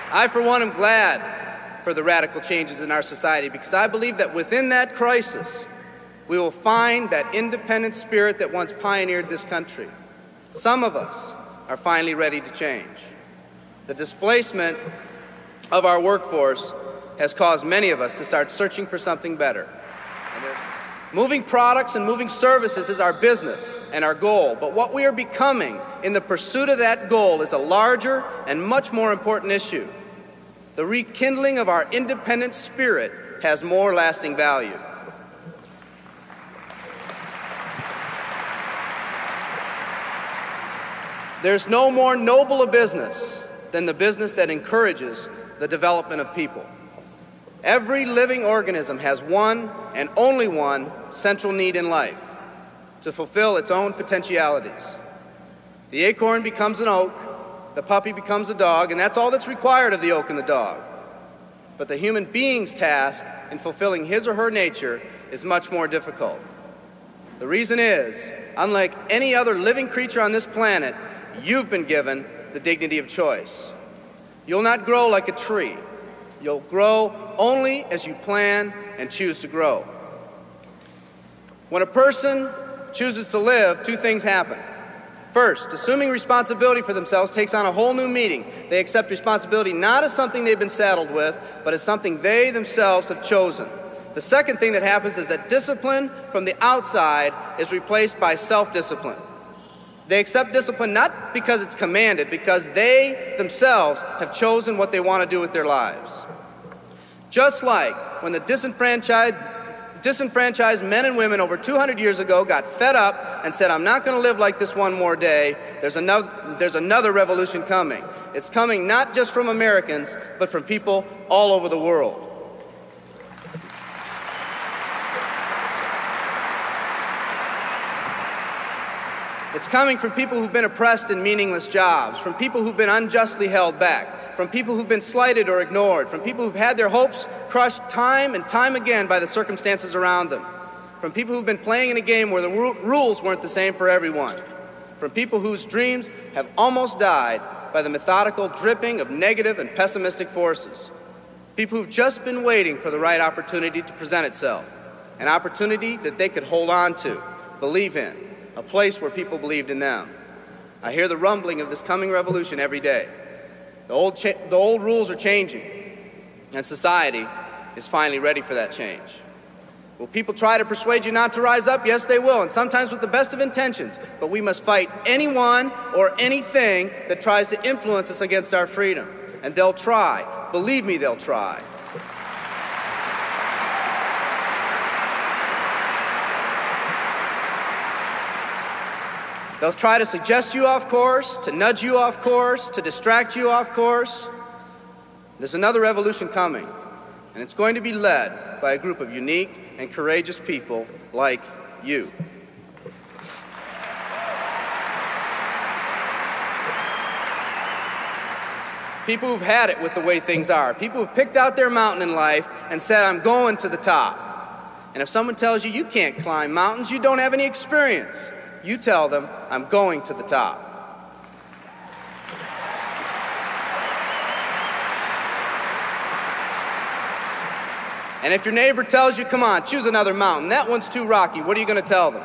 I, for one, am glad for the radical changes in our society because I believe that within that crisis, we will find that independent spirit that once pioneered this country. Some of us are finally ready to change. The displacement of our workforce has caused many of us to start searching for something better. Moving products and moving services is our business and our goal, but what we are becoming in the pursuit of that goal is a larger and much more important issue. The rekindling of our independent spirit has more lasting value. There's no more noble a business than the business that encourages the development of people. Every living organism has one and only one central need in life: to fulfill its own potentialities. The acorn becomes an oak, the puppy becomes a dog, and that's all that's required of the oak and the dog. But the human being's task in fulfilling his or her nature is much more difficult. The reason is, unlike any other living creature on this planet, you've been given the dignity of choice. You'll not grow like a tree. You'll grow only as you plan and choose to grow. When a person chooses to live, two things happen. First, assuming responsibility for themselves takes on a whole new meaning. They accept responsibility not as something they've been saddled with, but as something they themselves have chosen. The second thing that happens is that discipline from the outside is replaced by self-discipline. They accept discipline not because it's commanded, because they themselves have chosen what they want to do with their lives. Just like when the disenfranchised men and women over 200 years ago got fed up and said, "I'm not going to live like this one more day," there's another revolution coming. It's coming not just from Americans, but from people all over the world. It's coming from people who've been oppressed in meaningless jobs, from people who've been unjustly held back, from people who've been slighted or ignored, from people who've had their hopes crushed time and time again by the circumstances around them, from people who've been playing in a game where the rules weren't the same for everyone, from people whose dreams have almost died by the methodical dripping of negative and pessimistic forces, people who've just been waiting for the right opportunity to present itself, an opportunity that they could hold on to, believe in, a place where people believed in them. I hear the rumbling of this coming revolution every day. The old rules are changing, and society is finally ready for that change. Will people try to persuade you not to rise up? Yes, they will, and sometimes with the best of intentions. But we must fight anyone or anything that tries to influence us against our freedom. And they'll try. Believe me, they'll try. They'll try to suggest you off course, to nudge you off course, to distract you off course. There's another revolution coming, and it's going to be led by a group of unique and courageous people like you. People who've had it with the way things are. People who've picked out their mountain in life and said, "I'm going to the top." And if someone tells you you can't climb mountains, you don't have any experience. You tell them, "I'm going to the top." And if your neighbor tells you, "Come on, choose another mountain, that one's too rocky," what are you going to tell them?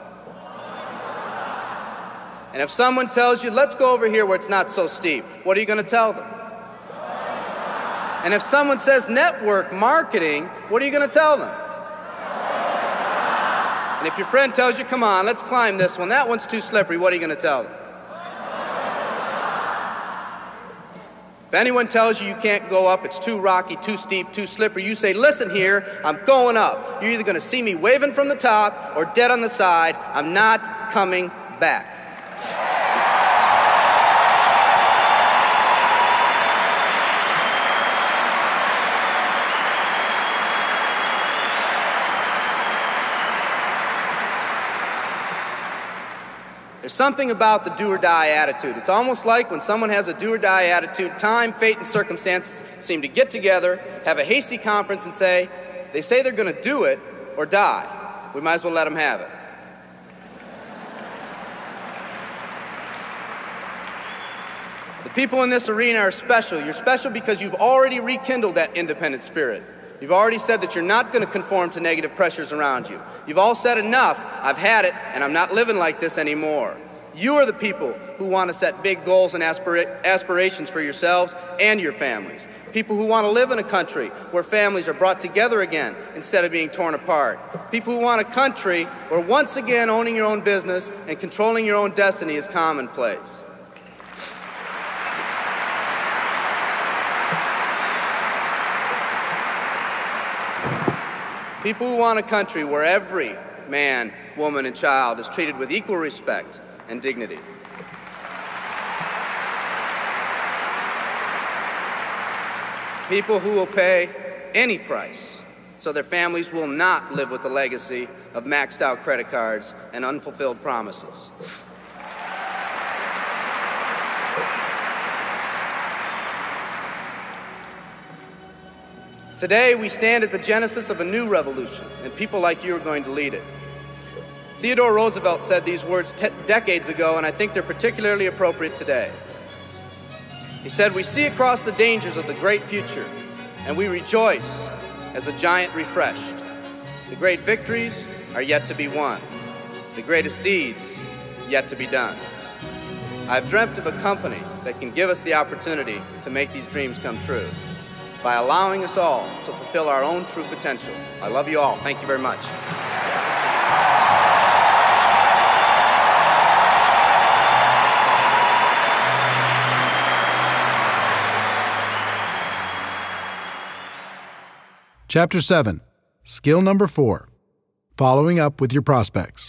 And if someone tells you, "Let's go over here where it's not so steep," what are you going to tell them? And if someone says network marketing, what are you going to tell them? And if your friend tells you, "Come on, let's climb this one, that one's too slippery," what are you going to tell them? If anyone tells you you can't go up, it's too rocky, too steep, too slippery, you say, "Listen here, I'm going up. You're either going to see me waving from the top or dead on the side. I'm not coming back." There's something about the do-or-die attitude. It's almost like when someone has a do-or-die attitude, time, fate, and circumstances seem to get together, have a hasty conference, and say, they say they're going to do it or die. We might as well let them have it. The people in this arena are special. You're special because you've already rekindled that independent spirit. You've already said that you're not going to conform to negative pressures around you. You've all said enough, I've had it, and I'm not living like this anymore. You are the people who want to set big goals and aspirations for yourselves and your families. People who want to live in a country where families are brought together again instead of being torn apart. People who want a country where once again owning your own business and controlling your own destiny is commonplace. People who want a country where every man, woman, and child is treated with equal respect and dignity. People who will pay any price so their families will not live with the legacy of maxed out credit cards and unfulfilled promises. Today, we stand at the genesis of a new revolution, and people like you are going to lead it. Theodore Roosevelt said these words decades ago, and I think they're particularly appropriate today. He said, "We see across the dangers of the great future, and we rejoice as a giant refreshed. The great victories are yet to be won, the greatest deeds yet to be done. I've dreamt of a company that can give us the opportunity to make these dreams come true by allowing us all to fulfill our own true potential. I love you all. Thank you very much." Chapter 7, Skill Number 4, Following Up with Your Prospects.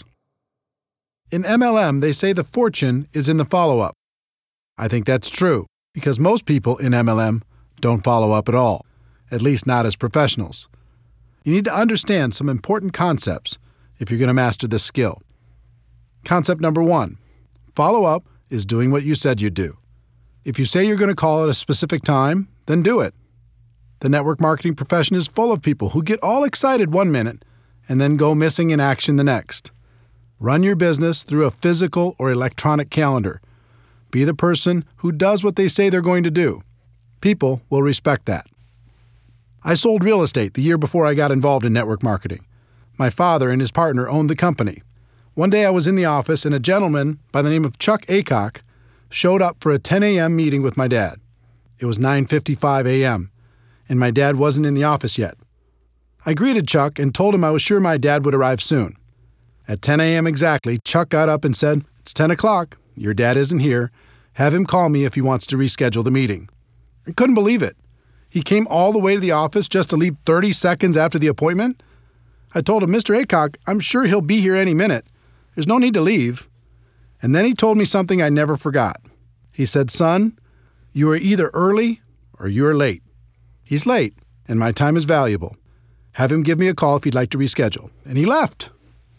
In MLM, they say the fortune is in the follow-up. I think that's true, because most people in MLM don't follow up at all, at least not as professionals. You need to understand some important concepts if you're going to master this skill. Concept number 1, follow-up is doing what you said you'd do. If you say you're going to call at a specific time, then do it. The network marketing profession is full of people who get all excited one minute and then go missing in action the next. Run your business through a physical or electronic calendar. Be the person who does what they say they're going to do. People will respect that. I sold real estate the year before I got involved in network marketing. My father and his partner owned the company. One day I was in the office and a gentleman by the name of Chuck Aycock showed up for a 10 a.m. meeting with my dad. It was 9:55 a.m., and my dad wasn't in the office yet. I greeted Chuck and told him I was sure my dad would arrive soon. At 10 a.m. exactly, Chuck got up and said, "It's 10 o'clock. Your dad isn't here. Have him call me if he wants to reschedule the meeting." I couldn't believe it. He came all the way to the office just to leave 30 seconds after the appointment? I told him, "Mr. Aycock, I'm sure he'll be here any minute. There's no need to leave." And then he told me something I never forgot. He said, "Son, you are either early or you are late. He's late, and my time is valuable. Have him give me a call if he'd like to reschedule." And he left.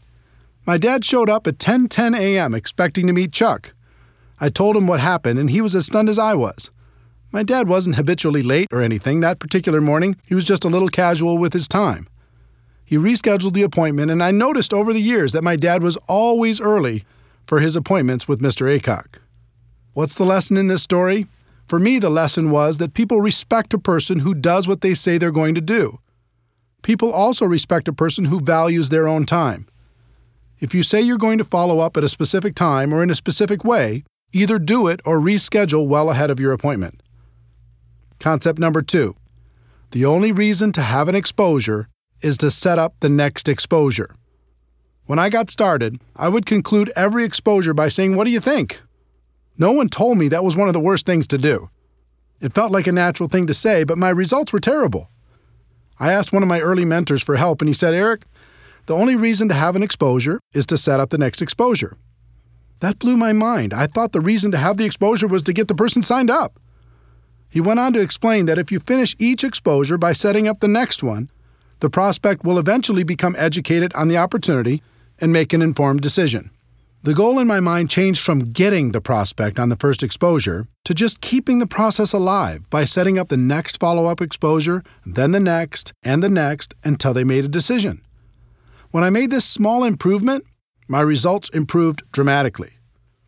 My dad showed up at 10:10 a.m. expecting to meet Chuck. I told him what happened, and he was as stunned as I was. My dad wasn't habitually late or anything. That particular morning, he was just a little casual with his time. He rescheduled the appointment, and I noticed over the years that my dad was always early for his appointments with Mr. Aycock. What's the lesson in this story? For me, the lesson was that people respect a person who does what they say they're going to do. People also respect a person who values their own time. If you say you're going to follow up at a specific time or in a specific way, either do it or reschedule well ahead of your appointment. Concept number 2. The only reason to have an exposure is to set up the next exposure. When I got started, I would conclude every exposure by saying, "What do you think?" No one told me that was one of the worst things to do. It felt like a natural thing to say, but my results were terrible. I asked one of my early mentors for help, and he said, "Eric, the only reason to have an exposure is to set up the next exposure." That blew my mind. I thought the reason to have the exposure was to get the person signed up. He went on to explain that if you finish each exposure by setting up the next one, the prospect will eventually become educated on the opportunity and make an informed decision. The goal in my mind changed from getting the prospect on the first exposure to just keeping the process alive by setting up the next follow-up exposure, then the next, until they made a decision. When I made this small improvement, my results improved dramatically.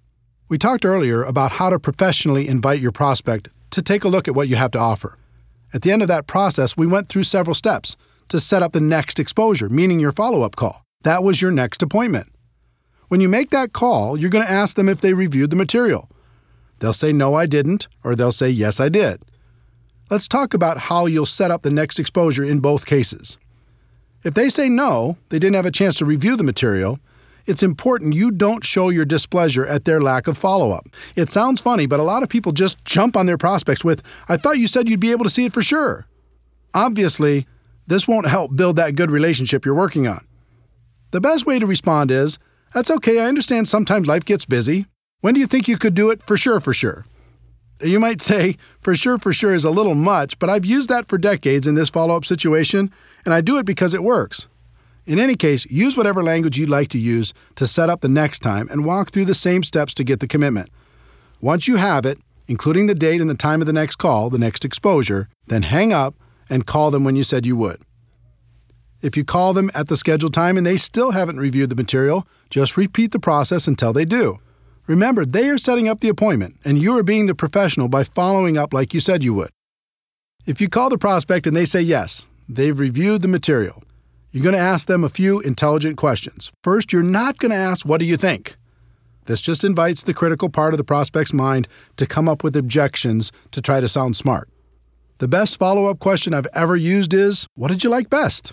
We talked earlier about how to professionally invite your prospect to take a look at what you have to offer. At the end of that process, we went through several steps to set up the next exposure, meaning your follow-up call. That was your next appointment. When you make that call, you're going to ask them if they reviewed the material. They'll say, no, I didn't, or they'll say, yes, I did. Let's talk about how you'll set up the next exposure in both cases. If they say no, they didn't have a chance to review the material, it's important you don't show your displeasure at their lack of follow-up. It sounds funny, but a lot of people just jump on their prospects with, I thought you said you'd be able to see it for sure. Obviously, this won't help build that good relationship you're working on. The best way to respond is, that's okay, I understand sometimes life gets busy. When do you think you could do it for sure, for sure? You might say, for sure is a little much, but I've used that for decades in this follow-up situation, and I do it because it works. In any case, use whatever language you'd like to use to set up the next time and walk through the same steps to get the commitment. Once you have it, including the date and the time of the next call, the next exposure, then hang up and call them when you said you would. If you call them at the scheduled time and they still haven't reviewed the material, just repeat the process until they do. Remember, they are setting up the appointment, and you are being the professional by following up like you said you would. If you call the prospect and they say yes, they've reviewed the material, you're going to ask them a few intelligent questions. First, you're not going to ask, what do you think? This just invites the critical part of the prospect's mind to come up with objections to try to sound smart. The best follow-up question I've ever used is, what did you like best?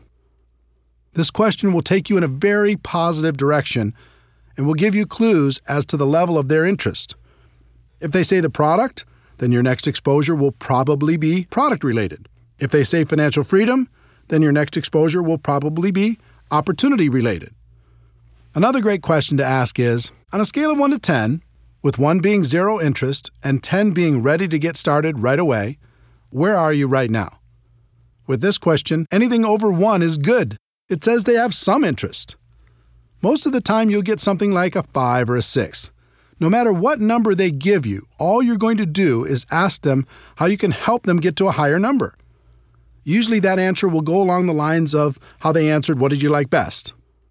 This question will take you in a very positive direction and will give you clues as to the level of their interest. If they say the product, then your next exposure will probably be product-related. If they say financial freedom, then your next exposure will probably be opportunity-related. Another great question to ask is, on a scale of 1 to 10, with 1 being zero interest and 10 being ready to get started right away, where are you right now? With this question, anything over 1 is good. It says they have some interest. Most of the time, you'll get something like a 5 or a 6. No matter what number they give you, all you're going to do is ask them how you can help them get to a higher number. Usually that answer will go along the lines of how they answered, what did you like best?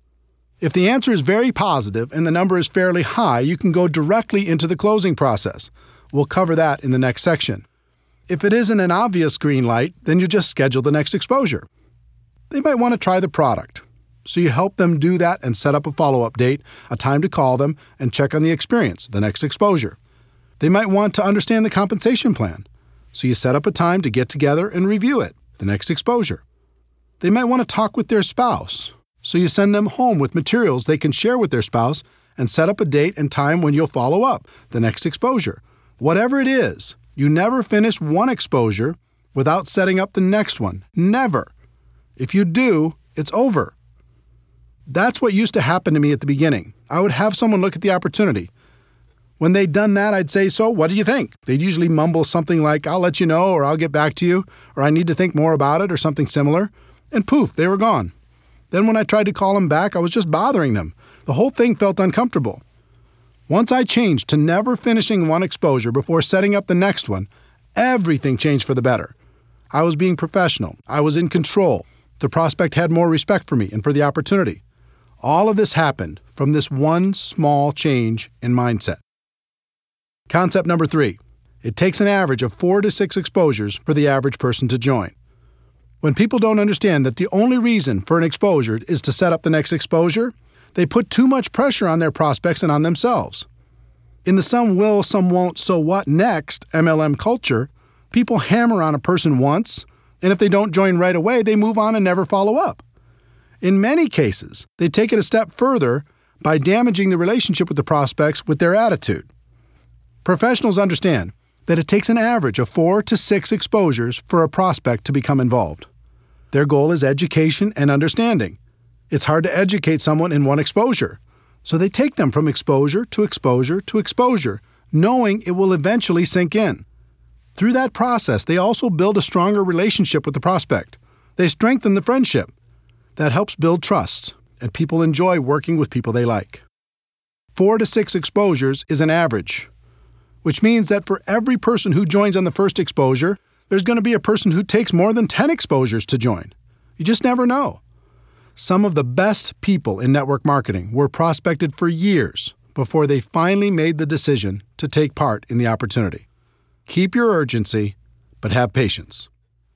If the answer is very positive and the number is fairly high, you can go directly into the closing process. We'll cover that in the next section. If it isn't an obvious green light, then you just schedule the next exposure. They might want to try the product, so you help them do that and set up a follow-up date, a time to call them, and check on the experience, the next exposure. They might want to understand the compensation plan, so you set up a time to get together and review it, the next exposure. They might want to talk with their spouse, so you send them home with materials they can share with their spouse and set up a date and time when you'll follow up, the next exposure. Whatever it is, you never finish one exposure without setting up the next one. Never. If you do, it's over. That's what used to happen to me at the beginning. I would have someone look at the opportunity. When they'd done that, I'd say, so what do you think? They'd usually mumble something like, I'll let you know, or I'll get back to you, or I need to think more about it, or something similar. And poof, they were gone. Then when I tried to call them back, I was just bothering them. The whole thing felt uncomfortable. Once I changed to never finishing one exposure before setting up the next one, everything changed for the better. I was being professional. I was in control. The prospect had more respect for me and for the opportunity. All of this happened from this one small change in mindset. Concept number 3. It takes an average of 4 to 6 exposures for the average person to join. When people don't understand that the only reason for an exposure is to set up the next exposure, they put too much pressure on their prospects and on themselves. In the some will, some won't, so what next MLM culture, people hammer on a person once, and if they don't join right away, they move on and never follow up. In many cases, they take it a step further by damaging the relationship with the prospects with their attitude. Professionals understand that it takes an average of 4 to 6 exposures for a prospect to become involved. Their goal is education and understanding. It's hard to educate someone in one exposure, so they take them from exposure to exposure to exposure, knowing it will eventually sink in. Through that process, they also build a stronger relationship with the prospect. They strengthen the friendship. That helps build trust, and people enjoy working with people they like. 4 to 6 exposures is an average, which means that for every person who joins on the first exposure, there's going to be a person who takes more than 10 exposures to join. You just never know. Some of the best people in network marketing were prospected for years before they finally made the decision to take part in the opportunity. Keep your urgency, but have patience.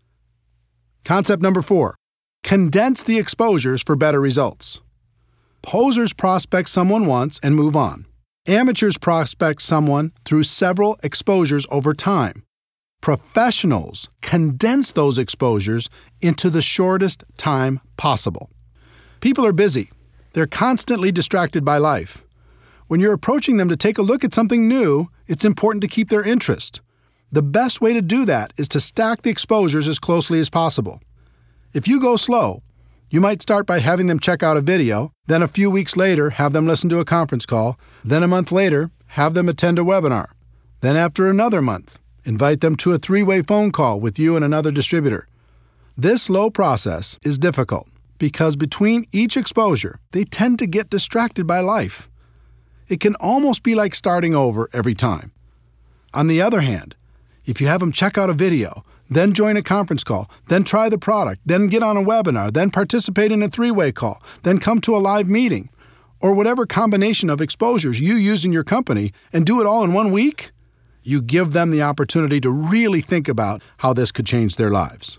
Concept number 4. Condense the exposures for better results. Posers prospect someone once and move on. Amateurs prospect someone through several exposures over time. Professionals condense those exposures into the shortest time possible. People are busy. They're constantly distracted by life. When you're approaching them to take a look at something new, it's important to keep their interest. The best way to do that is to stack the exposures as closely as possible. If you go slow, you might start by having them check out a video, then a few weeks later have them listen to a conference call, then a month later have them attend a webinar, then after another month, invite them to a 3-way phone call with you and another distributor. This slow process is difficult because between each exposure, they tend to get distracted by life. It can almost be like starting over every time. On the other hand, if you have them check out a video, then join a conference call, then try the product, then get on a webinar, then participate in a 3-way call, then come to a live meeting, or whatever combination of exposures you use in your company and do it all in 1 week, you give them the opportunity to really think about how this could change their lives.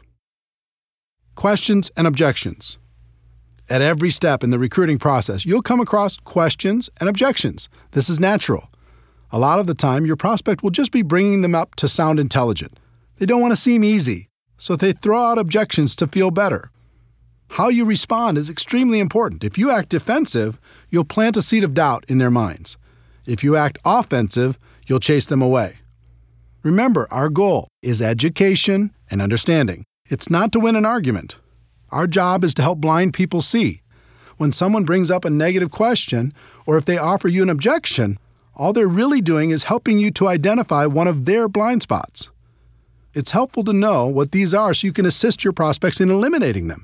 Questions and objections. At every step in the recruiting process, you'll come across questions and objections. This is natural. A lot of the time, your prospect will just be bringing them up to sound intelligent. They don't want to seem easy, so they throw out objections to feel better. How you respond is extremely important. If you act defensive, you'll plant a seed of doubt in their minds. If you act offensive, you'll chase them away. Remember, our goal is education and understanding. It's not to win an argument. Our job is to help blind people see. When someone brings up a negative question, or if they offer you an objection, all they're really doing is helping you to identify one of their blind spots. It's helpful to know what these are so you can assist your prospects in eliminating them.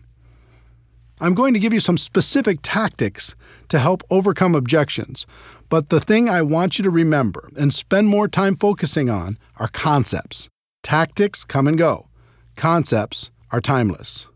I'm going to give you some specific tactics to help overcome objections, but the thing I want you to remember and spend more time focusing on are concepts. Tactics come and go. Concepts are timeless.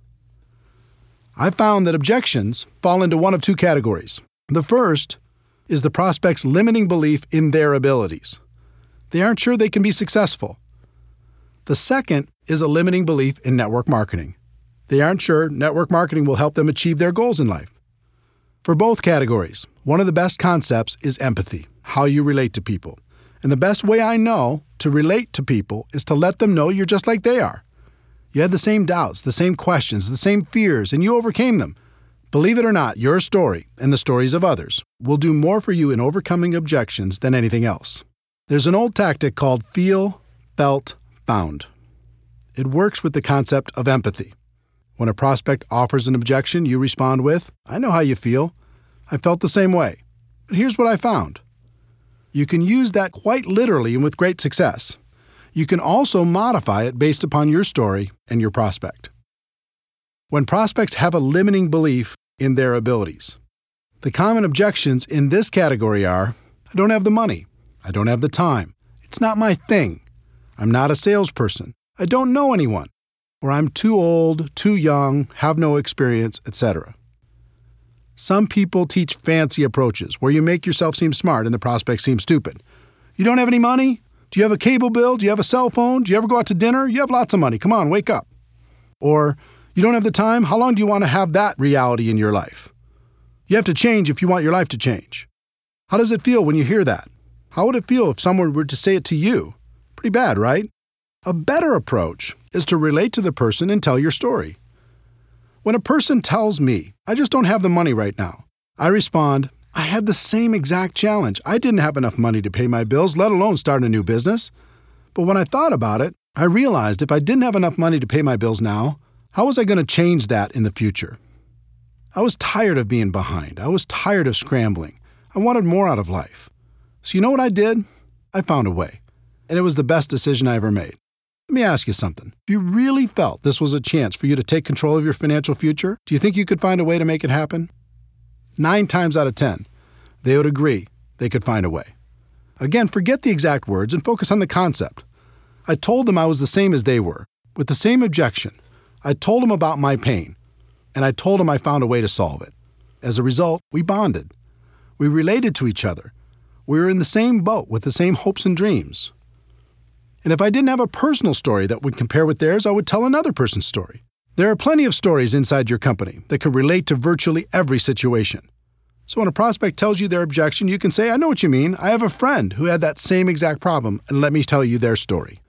I found that objections fall into one of 2 categories. The first is the prospect's limiting belief in their abilities. They aren't sure they can be successful. The second is a limiting belief in network marketing. They aren't sure network marketing will help them achieve their goals in life. For both categories, one of the best concepts is empathy, how you relate to people. And the best way I know to relate to people is to let them know you're just like they are. You had the same doubts, the same questions, the same fears, and you overcame them. Believe it or not, your story and the stories of others will do more for you in overcoming objections than anything else. There's an old tactic called feel, felt, found. It works with the concept of empathy. When a prospect offers an objection, you respond with, "I know how you feel. I felt the same way. But here's what I found." You can use that quite literally and with great success. You can also modify it based upon your story and your prospect. When prospects have a limiting belief in their abilities, the common objections in this category are, "I don't have the money. I don't have the time. It's not my thing. I'm not a salesperson. I don't know anyone. Or I'm too old, too young, have no experience, etc." Some people teach fancy approaches where you make yourself seem smart and the prospect seems stupid. "You don't have any money? Do you have a cable bill? Do you have a cell phone? Do you ever go out to dinner? You have lots of money. Come on, wake up." Or, "You don't have the time? How long do you want to have that reality in your life? You have to change if you want your life to change." How does it feel when you hear that? How would it feel if someone were to say it to you? Pretty bad, right? A better approach is to relate to the person and tell your story. When a person tells me, "I just don't have the money right now," I respond, "I had the same exact challenge. I didn't have enough money to pay my bills, let alone start a new business. But when I thought about it, I realized if I didn't have enough money to pay my bills now, how was I going to change that in the future? I was tired of being behind. I was tired of scrambling. I wanted more out of life. So you know what I did? I found a way. And it was the best decision I ever made." Let me ask you something. If you really felt this was a chance for you to take control of your financial future, do you think you could find a way to make it happen? 9 times out of 10, they would agree they could find a way. Again, forget the exact words and focus on the concept. I told them I was the same as they were, with the same objection. I told them about my pain, and I told them I found a way to solve it. As a result, we bonded. We related to each other. We were in the same boat with the same hopes and dreams. And if I didn't have a personal story that would compare with theirs, I would tell another person's story. There are plenty of stories inside your company that can relate to virtually every situation. So when a prospect tells you their objection, you can say, I know what you mean. I have a friend who had that same exact problem, and let me tell you their story.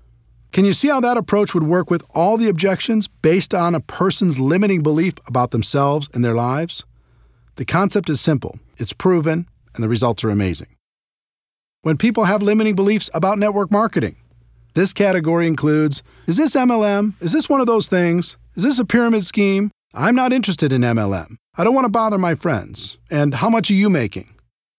Can you see how that approach would work with all the objections based on a person's limiting belief about themselves and their lives? The concept is simple, it's proven, and the results are amazing. When people have limiting beliefs about network marketing, this category includes, is this MLM? Is this one of those things? Is this a pyramid scheme? I'm not interested in MLM. I don't want to bother my friends. And how much are you making?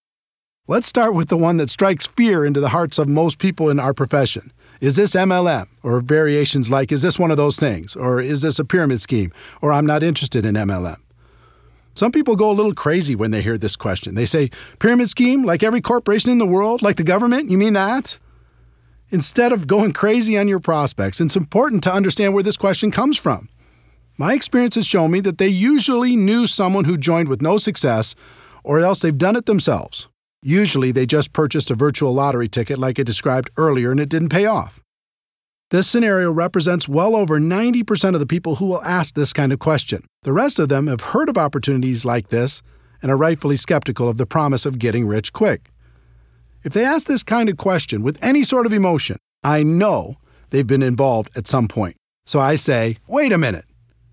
Let's start with the one that strikes fear into the hearts of most people in our profession. Is this MLM? Or variations like, is this one of those things? Or is this a pyramid scheme? Or I'm not interested in MLM. Some people go a little crazy when they hear this question. They say, pyramid scheme, like every corporation in the world, like the government? You mean that? Instead of going crazy on your prospects, it's important to understand where this question comes from. My experience has shown me that they usually knew someone who joined with no success, or else they've done it themselves. Usually they just purchased a virtual lottery ticket like I described earlier and it didn't pay off. This scenario represents well over 90% of the people who will ask this kind of question. The rest of them have heard of opportunities like this and are rightfully skeptical of the promise of getting rich quick. If they ask this kind of question with any sort of emotion, I know they've been involved at some point. So I say, wait a minute.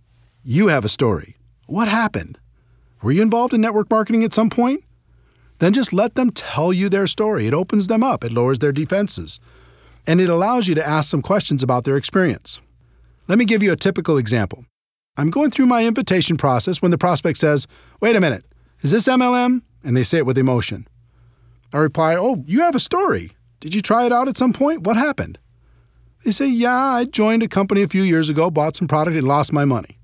You have a story. What happened? Were you involved in network marketing at some point? Then just let them tell you their story. It opens them up. It lowers their defenses. And it allows you to ask some questions about their experience. Let me give you a typical example. I'm going through my invitation process when the prospect says, wait a minute, is this MLM? And they say it with emotion. I reply, oh, you have a story. Did you try it out at some point? What happened? They say, yeah, I joined a company a few years ago, bought some product, and lost my money.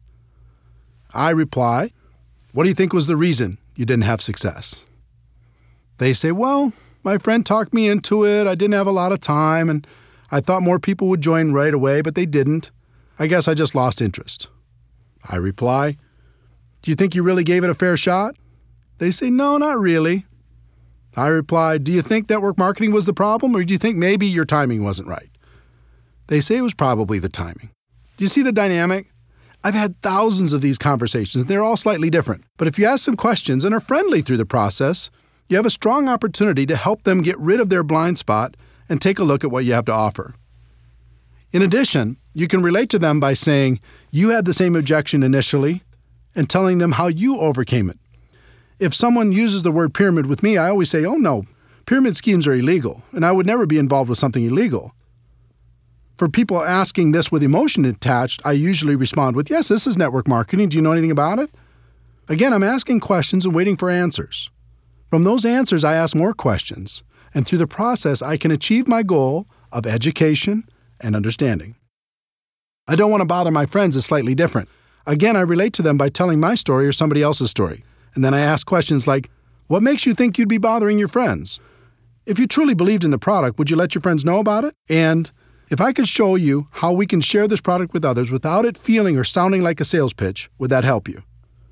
I reply, what do you think was the reason you didn't have success? They say, well, my friend talked me into it. I didn't have a lot of time, and I thought more people would join right away, but they didn't. I guess I just lost interest. I reply, do you think you really gave it a fair shot? They say, no, not really. I reply, do you think network marketing was the problem, or do you think maybe your timing wasn't right? They say it was probably the timing. Do you see the dynamic? I've had thousands of these conversations, and they're all slightly different. But if you ask some questions and are friendly through the process, you have a strong opportunity to help them get rid of their blind spot and take a look at what you have to offer. In addition, you can relate to them by saying you had the same objection initially and telling them how you overcame it. If someone uses the word pyramid with me, I always say, oh no, pyramid schemes are illegal, and I would never be involved with something illegal. For people asking this with emotion attached, I usually respond with, yes, this is network marketing. Do you know anything about it? Again, I'm asking questions and waiting for answers. From those answers, I ask more questions, and through the process, I can achieve my goal of education and understanding. I don't want to bother my friends is slightly different. Again, I relate to them by telling my story or somebody else's story. And then I ask questions like, what makes you think you'd be bothering your friends? If you truly believed in the product, would you let your friends know about it? And if I could show you how we can share this product with others without it feeling or sounding like a sales pitch, would that help you?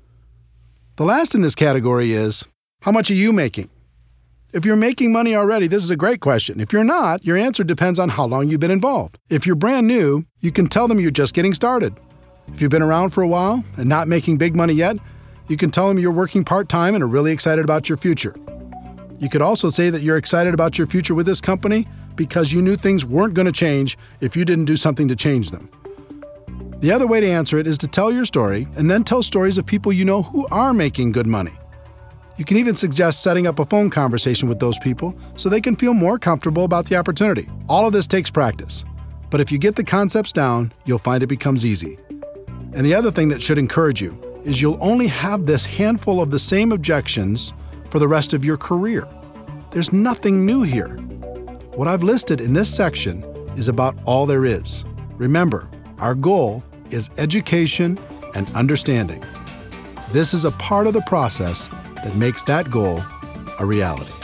The last in this category is, how much are you making? If you're making money already, this is a great question. If you're not, your answer depends on how long you've been involved. If you're brand new, you can tell them you're just getting started. If you've been around for a while and not making big money yet, you can tell them you're working part-time and are really excited about your future. You could also say that you're excited about your future with this company because you knew things weren't going to change if you didn't do something to change them. The other way to answer it is to tell your story and then tell stories of people you know who are making good money. You can even suggest setting up a phone conversation with those people so they can feel more comfortable about the opportunity. All of this takes practice, but if you get the concepts down, you'll find it becomes easy. And the other thing that should encourage you is you'll only have this handful of the same objections for the rest of your career. There's nothing new here. What I've listed in this section is about all there is. Remember, our goal is education and understanding. This is a part of the process that makes that goal a reality.